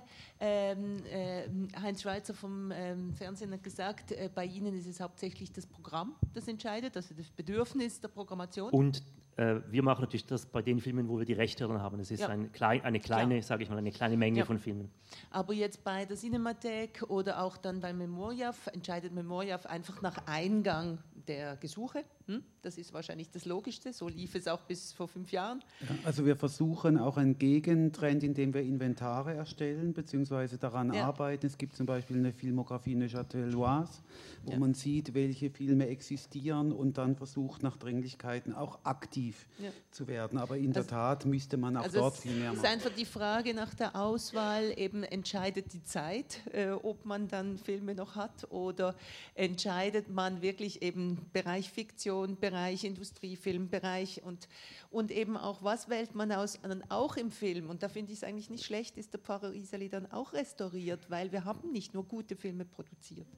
Heinz Schweizer vom Fernsehen hat gesagt, bei Ihnen ist es hauptsächlich das Programm, das entscheidet, also das Bedürfnis der Programmation. Und wir machen natürlich das bei den Filmen, wo wir die Rechte dran haben. Das ist eine kleine, sage ich mal, eine kleine Menge von Filmen. Aber jetzt bei der Cinemathek oder auch dann bei Memoriaf entscheidet Memoriaf einfach nach Eingang der Gesuche. Das ist wahrscheinlich das Logischste. So lief es auch bis vor 5 Jahren. Ja, also wir versuchen auch einen Gegentrend, indem wir Inventare erstellen bzw. daran arbeiten. Es gibt zum Beispiel eine Filmografie Neuchâteloise, wo man sieht, welche Filme existieren und dann versucht nach Dringlichkeiten auch aktiv zu werden. Aber in der Tat müsste man auch dort viel mehr machen. Es ist einfach die Frage nach der Auswahl, eben entscheidet die Zeit, ob man dann Filme noch hat oder entscheidet man wirklich eben Bereich Fiktion, Bereich Industriefilm, Bereich und eben auch, was wählt man aus, auch im Film. Und da finde ich es eigentlich nicht schlecht, ist der Pfarrer Iseli dann auch restauriert, weil wir haben nicht nur gute Filme produziert.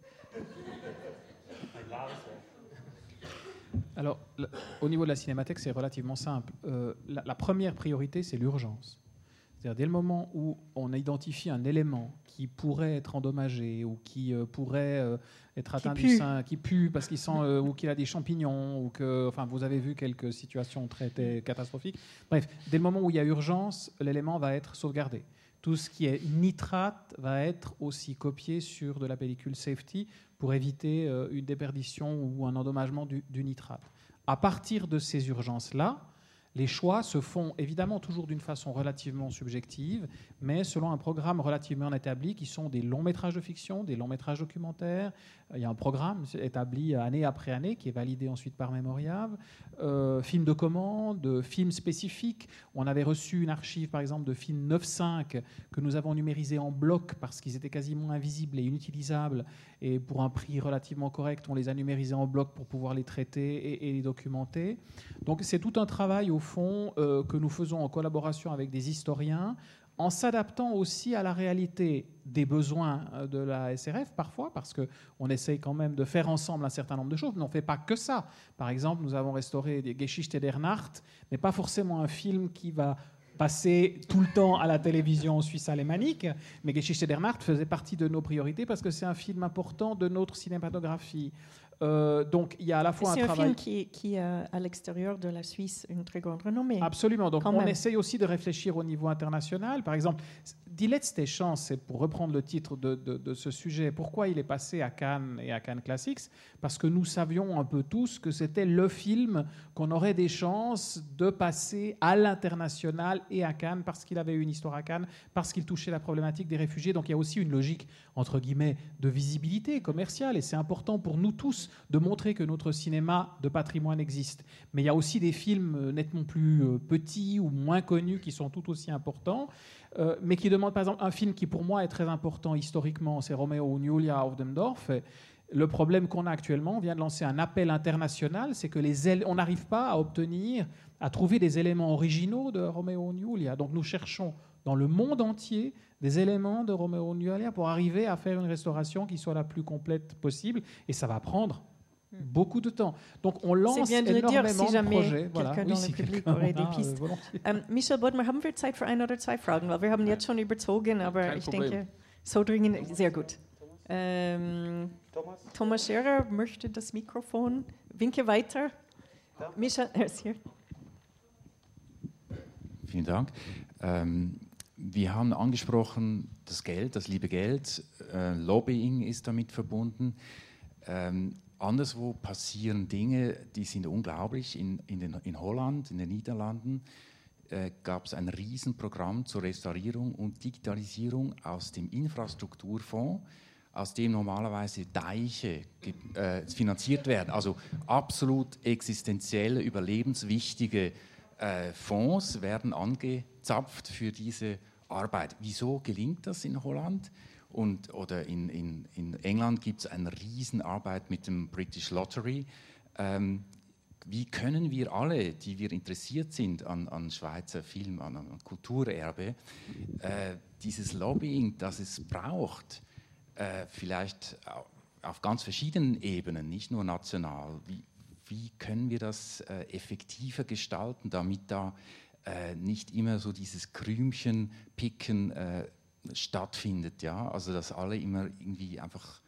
Alors, au niveau de la cinémathèque, c'est relativement simple. La première priorité, c'est l'urgence. C'est-à-dire dès le moment où on identifie un élément qui pourrait être endommagé ou qui pourrait être atteint du sein, qui pue parce qu'il sent ou qu'il a des champignons ou que, enfin, vous avez vu quelques situations très catastrophiques. Bref, dès le moment où il y a urgence, l'élément va être sauvegardé. Tout ce qui est nitrate va être aussi copié sur de la pellicule safety pour éviter une déperdition ou un endommagement du nitrate. À partir de ces urgences-là, les choix se font évidemment toujours d'une façon relativement subjective, mais selon un programme relativement établi qui sont des longs métrages de fiction, des longs métrages documentaires. Il y a un programme établi année après année qui est validé ensuite par Memoriav. Films de commande, films spécifiques. On avait reçu une archive par exemple de films 9.5 que nous avons numérisés en bloc parce qu'ils étaient quasiment invisibles et inutilisables. Et pour un prix relativement correct, on les a numérisés en bloc pour pouvoir les traiter et les documenter. Donc c'est tout un travail au fond que nous faisons en collaboration avec des historiens, en s'adaptant aussi à la réalité des besoins de la SRF parfois, parce qu'on essaye quand même de faire ensemble un certain nombre de choses, mais on ne fait pas que ça. Par exemple, nous avons restauré des Geschichte der Nacht, mais pas forcément un film qui va passer tout le temps à la télévision suisse-alémanique, mais Geschichte der Nacht faisait partie de nos priorités parce que c'est un film important de notre cinématographie. Donc il y a à la fois un travail... C'est un film qui a à l'extérieur de la Suisse une très grande renommée. Absolument, donc on essaye aussi de réfléchir au niveau international. Par exemple, Die letzte Chance, c'est pour reprendre le titre de ce sujet, pourquoi il est passé à Cannes et à Cannes Classics? Parce que nous savions un peu tous que c'était le film qu'on aurait des chances de passer à l'international et à Cannes, parce qu'il avait une histoire à Cannes, parce qu'il touchait la problématique des réfugiés. Donc il y a aussi une logique, entre guillemets, de visibilité commerciale, et c'est important pour nous tous de montrer que notre cinéma de patrimoine existe. Mais il y a aussi des films nettement plus petits ou moins connus qui sont tout aussi importants, mais qui demandent, par exemple, un film qui pour moi est très important historiquement, c'est Romeo und Julia auf dem Dorf. Le problème qu'on a actuellement, on vient de lancer un appel international, c'est que on n'arrive pas à trouver des éléments originaux de Romeo und Julia. Donc nous cherchons dans le monde entier des éléments de Romeo und Julia pour arriver à faire une restauration qui soit la plus complète possible, et ça va prendre beaucoup de temps. Donc on lance énormément de projets. Quelqu'un dans le Publik aurait des Pistes. Michel Bodmer, haben wir Zeit für ein oder zwei Fragen? Weil wir haben jetzt schon überzogen, aber ich denke, so dringend, sehr gut. Thomas Scherer möchte das Mikrofon. Winke weiter. Michel, er ist hier. Vielen Dank. Wir haben angesprochen, das Geld, das liebe Geld, Lobbying ist damit verbunden. Anderswo passieren Dinge, die sind unglaublich. In Holland, in den Niederlanden, gab es ein Riesenprogramm zur Restaurierung und Digitalisierung aus dem Infrastrukturfonds, aus dem normalerweise Deiche finanziert werden. Also absolut existenzielle, überlebenswichtige Fonds werden angezapft für diese Arbeit. Wieso gelingt das in Holland? Oder in England gibt es eine Riesenarbeit mit dem British Lottery. Wie können wir alle, die wir interessiert sind an Schweizer Film, an Kulturerbe, dieses Lobbying, das es braucht, vielleicht auf ganz verschiedenen Ebenen, nicht nur national, wie können wir das effektiver gestalten, damit da nicht immer so dieses Krümchenpicken stattfindet, ja, also dass alle immer irgendwie einfach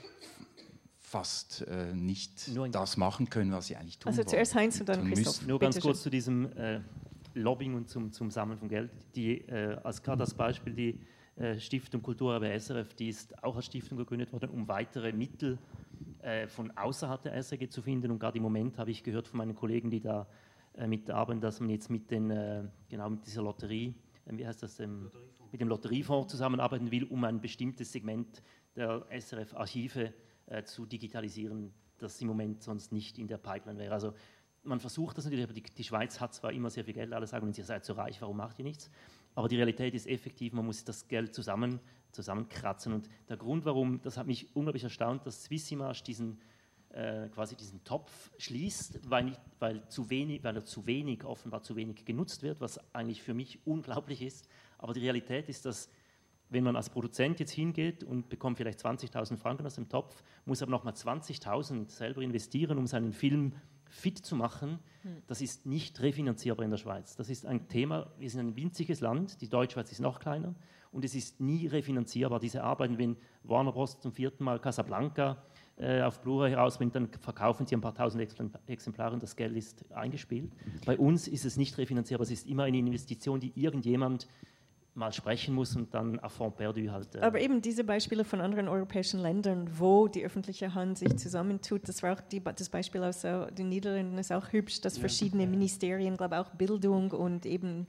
fast nicht das machen können, was sie eigentlich tun wollen. Also zuerst Heinz und dann Christoph. Nur ganz kurz zu diesem Lobbying und zum Sammeln von Geld. Gerade als Beispiel die Stiftung Kulturerbe SRF, die ist auch als Stiftung gegründet worden, um weitere Mittel von außerhalb der SRG zu finden. Und gerade im Moment habe ich gehört von meinen Kollegen, die da mitarbeiten, dass man jetzt mit dieser Lotterie, wie heißt das, mit dem Lotteriefonds zusammenarbeiten will, um ein bestimmtes Segment der SRF-Archive zu digitalisieren, das im Moment sonst nicht in der Pipeline wäre. Also man versucht das natürlich, aber die Schweiz hat zwar immer sehr viel Geld, alle sagen, ihr seid so reich, warum macht ihr nichts? Aber die Realität ist effektiv, man muss das Geld zusammenkratzen. Und der Grund, warum, das hat mich unglaublich erstaunt, dass Swissimage diesen Topf schließt, weil er zu wenig offenbar zu wenig genutzt wird, was eigentlich für mich unglaublich ist. Aber die Realität ist, dass wenn man als Produzent jetzt hingeht und bekommt vielleicht 20.000 Franken aus dem Topf, muss aber nochmal 20.000 selber investieren, um seinen Film fit zu machen, das ist nicht refinanzierbar in der Schweiz. Das ist ein Thema, wir sind ein winziges Land, die Deutschschweiz ist noch kleiner und es ist nie refinanzierbar. Diese Arbeiten, wenn Warner Bros. Zum 4. Mal Casablanca auf Blu-ray herausbringt, dann verkaufen sie ein paar tausend Exemplare und das Geld ist eingespielt. Bei uns ist es nicht refinanzierbar, es ist immer eine Investition, die irgendjemand mal sprechen muss und dann à fond perdu halt. Aber eben diese Beispiele von anderen europäischen Ländern, wo die öffentliche Hand sich zusammentut, das war auch das Beispiel aus den Niederlanden, ist auch hübsch, dass verschiedene Ministerien, glaube auch Bildung und eben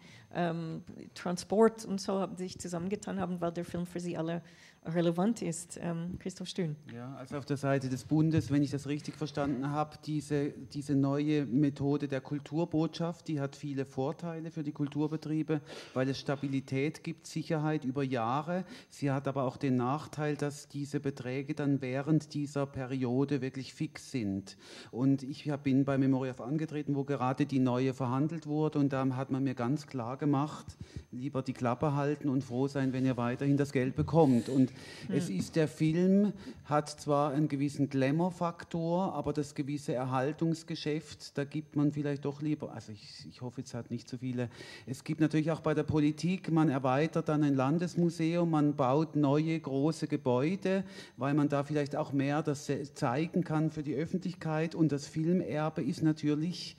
Transport und so sich zusammengetan haben, weil der Film für sie alle relevant ist. Christoph Stühn. Ja, also auf der Seite des Bundes, wenn ich das richtig verstanden habe, diese neue Methode der Kulturbotschaft, die hat viele Vorteile für die Kulturbetriebe, weil es Stabilität gibt, Sicherheit über Jahre. Sie hat aber auch den Nachteil, dass diese Beträge dann während dieser Periode wirklich fix sind. Und ich bin bei Memoriaf angetreten, wo gerade die neue verhandelt wurde und da hat man mir ganz klar gemacht, lieber die Klappe halten und froh sein, wenn ihr weiterhin das Geld bekommt. Und es ist, der Film hat zwar einen gewissen Glamour-Faktor, aber das gewisse Erhaltungsgeschäft, da gibt man vielleicht doch lieber, also ich hoffe, es hat nicht so viele, es gibt natürlich auch bei der Politik, man erweitert dann ein Landesmuseum, man baut neue große Gebäude, weil man da vielleicht auch mehr das zeigen kann für die Öffentlichkeit und das Filmerbe ist natürlich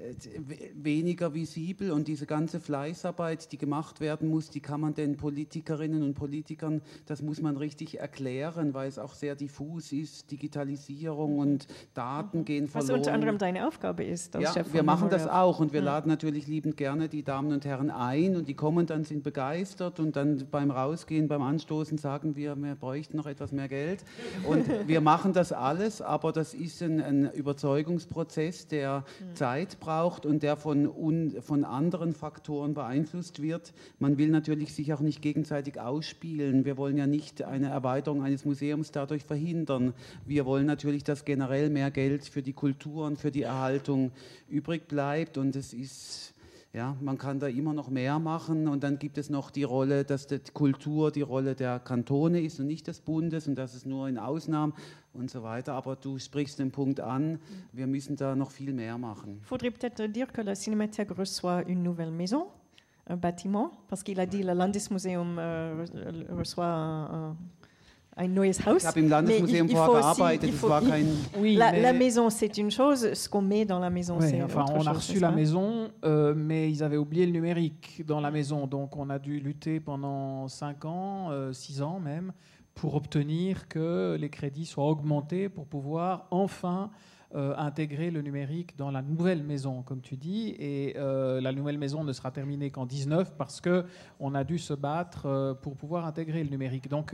weniger visibel und diese ganze Fleißarbeit, die gemacht werden muss, die kann man den Politikerinnen und Politikern, das muss man richtig erklären, weil es auch sehr diffus ist, Digitalisierung und Daten gehen verloren. Was unter anderem deine Aufgabe ist. Ja, wir machen das auch und wir laden natürlich liebend gerne die Damen und Herren ein und die kommen dann, sind begeistert und dann beim Rausgehen, beim Anstoßen sagen wir bräuchten noch etwas mehr Geld und wir machen das alles, aber das ist ein Überzeugungsprozess, der Zeit braucht und der von anderen Faktoren beeinflusst wird. Man will natürlich sich auch nicht gegenseitig ausspielen. Wir wollen ja nicht eine Erweiterung eines Museums dadurch verhindern. Wir wollen natürlich, dass generell mehr Geld für die Kultur und für die Erhaltung übrig bleibt und es ist... Ja, man kann da immer noch mehr machen und dann gibt es noch die Rolle, dass die Kultur die Rolle der Kantone ist und nicht des Bundes und das ist nur in Ausnahmen und so weiter. Aber du sprichst den Punkt an, wir müssen da noch viel mehr machen. Faudrait peut-être dire que la Cinémathèque reçoit une nouvelle maison, un bâtiment, parce qu'il a dit le Landesmuseum reçoit ein neues Haus. Ich habe im Landesmuseum vorher gearbeitet, es war kein... La maison, c'est une chose, ce qu'on met dans la maison, c'est autre chose. On a reçu la maison, mais ils avaient oublié le numérique dans la maison, donc on a dû lutter pendant 5 ans, 6 ans même, pour obtenir que les crédits soient augmentés pour pouvoir enfin intégrer le numérique dans la nouvelle maison, comme tu dis, et la nouvelle maison ne sera terminée qu'en 2019 parce qu'on a dû se battre pour pouvoir intégrer le numérique. Donc,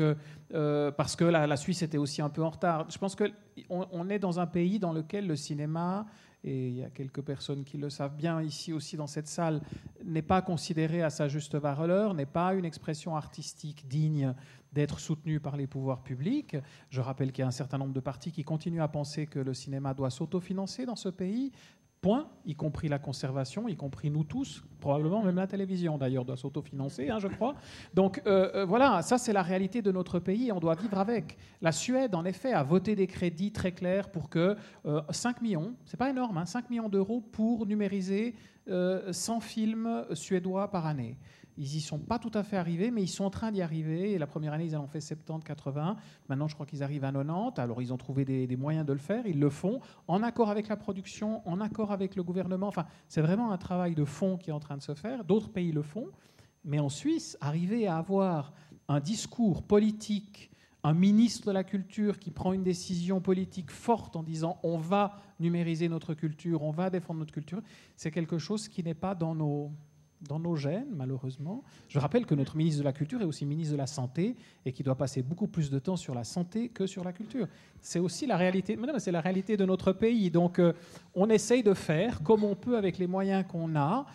parce que la Suisse était aussi un peu en retard. Je pense qu'on est dans un pays dans lequel le cinéma, et il y a quelques personnes qui le savent bien ici aussi dans cette salle, n'est pas considéré à sa juste valeur, n'est pas une expression artistique digne d'être soutenu par les pouvoirs publics. Je rappelle qu'il y a un certain nombre de partis qui continuent à penser que le cinéma doit s'autofinancer dans ce pays, point, y compris la conservation, y compris nous tous, probablement même la télévision d'ailleurs doit s'autofinancer, je crois. Donc voilà, ça c'est la réalité de notre pays et on doit vivre avec. La Suède, en effet, a voté des crédits très clairs pour que 5 millions, c'est pas énorme, 5 millions d'euros pour numériser 100 films suédois par année. Ils n'y sont pas tout à fait arrivés, mais ils sont en train d'y arriver. Et la première année, ils en ont fait 70, 80. Maintenant, je crois qu'ils arrivent à 90. Alors, ils ont trouvé des moyens de le faire. Ils le font en accord avec la production, en accord avec le gouvernement. Enfin, c'est vraiment un travail de fond qui est en train de se faire. D'autres pays le font. Mais en Suisse, arriver à avoir un discours politique, un ministre de la Culture qui prend une décision politique forte en disant on va numériser notre culture, on va défendre notre culture, c'est quelque chose qui n'est pas dans nos gènes, malheureusement. Je rappelle que notre ministre de la Culture est aussi ministre de la Santé et qui doit passer beaucoup plus de temps sur la santé que sur la culture. C'est aussi la réalité, mais c'est la réalité de notre pays. Donc, on essaye de faire comme on peut avec les moyens qu'on a.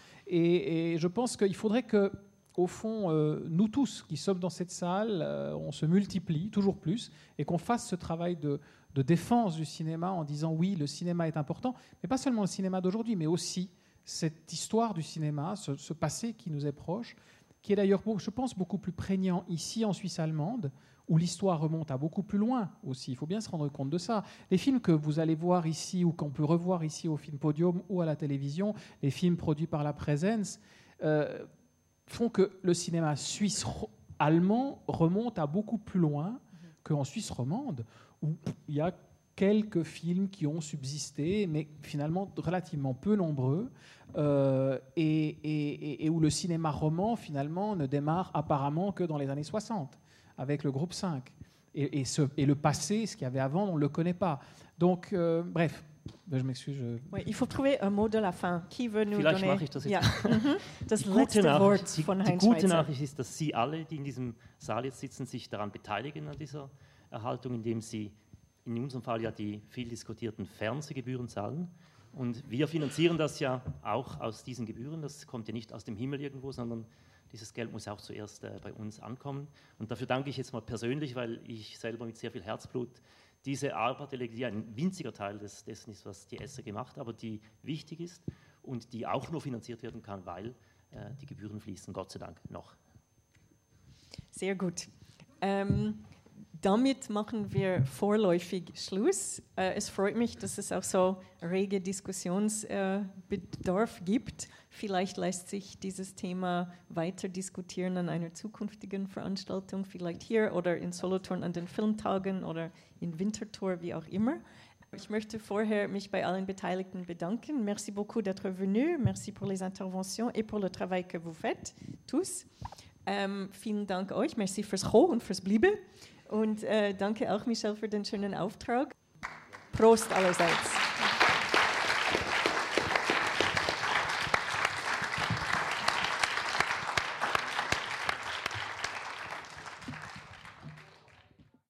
Et je pense qu'il faudrait que, au fond, nous tous qui sommes dans cette salle, on se multiplie toujours plus et qu'on fasse ce travail de défense du cinéma en disant oui, le cinéma est important, mais pas seulement le cinéma d'aujourd'hui, mais aussi cette histoire du cinéma, ce passé qui nous est proche, qui est d'ailleurs, je pense, beaucoup plus prégnant ici en Suisse allemande, où l'histoire remonte à beaucoup plus loin aussi. Il faut bien se rendre compte de ça. Les films que vous allez voir ici ou qu'on peut revoir ici au Film Podium ou à la télévision, les films produits par la Präsenz, font que le cinéma suisse-allemand remonte à beaucoup plus loin qu'en Suisse romande, où il y a quelques films qui ont subsisté, mais finalement relativement peu nombreux, et où le cinéma roman, finalement, ne démarre apparemment que dans les années 60. Avec le groupe 5. Et le passé, ce qu'il y avait avant, on ne le connaît pas. Donc, bref, je m'excuse. Oui, il faut trouver un mot de la fin. Qui veut nous Vielleicht donner... mache ich das jetzt. Ja. Das letzte Wort von Heinz Die gute Schweizer. Nachricht ist, dass Sie alle, die in diesem Saal jetzt sitzen, sich daran beteiligen, an dieser Erhaltung, indem Sie in unserem Fall ja die viel diskutierten Fernsehgebühren zahlen. Und wir finanzieren das ja auch aus diesen Gebühren. Das kommt ja nicht aus dem Himmel irgendwo, sondern dieses Geld muss auch zuerst bei uns ankommen. Und dafür danke ich jetzt mal persönlich, weil ich selber mit sehr viel Herzblut diese Arbeit erlege, die ein winziger Teil dessen ist, was die SRG macht, aber die wichtig ist und die auch nur finanziert werden kann, weil die Gebühren fließen, Gott sei Dank, noch. Sehr gut. Damit machen wir vorläufig Schluss. Es freut mich, dass es auch so rege Diskussionsbedarf gibt. Vielleicht lässt sich dieses Thema weiter diskutieren an einer zukünftigen Veranstaltung, vielleicht hier oder in Solothurn an den Filmtagen oder in Winterthur, wie auch immer. Ich möchte vorher mich bei allen Beteiligten bedanken. Merci beaucoup d'être venu. Merci pour les interventions et pour le travail que vous faites, tous. Vielen Dank euch. Merci fürs Kommen und fürs Bleiben. Und danke auch, Michel, für den schönen Auftrag. Prost allerseits.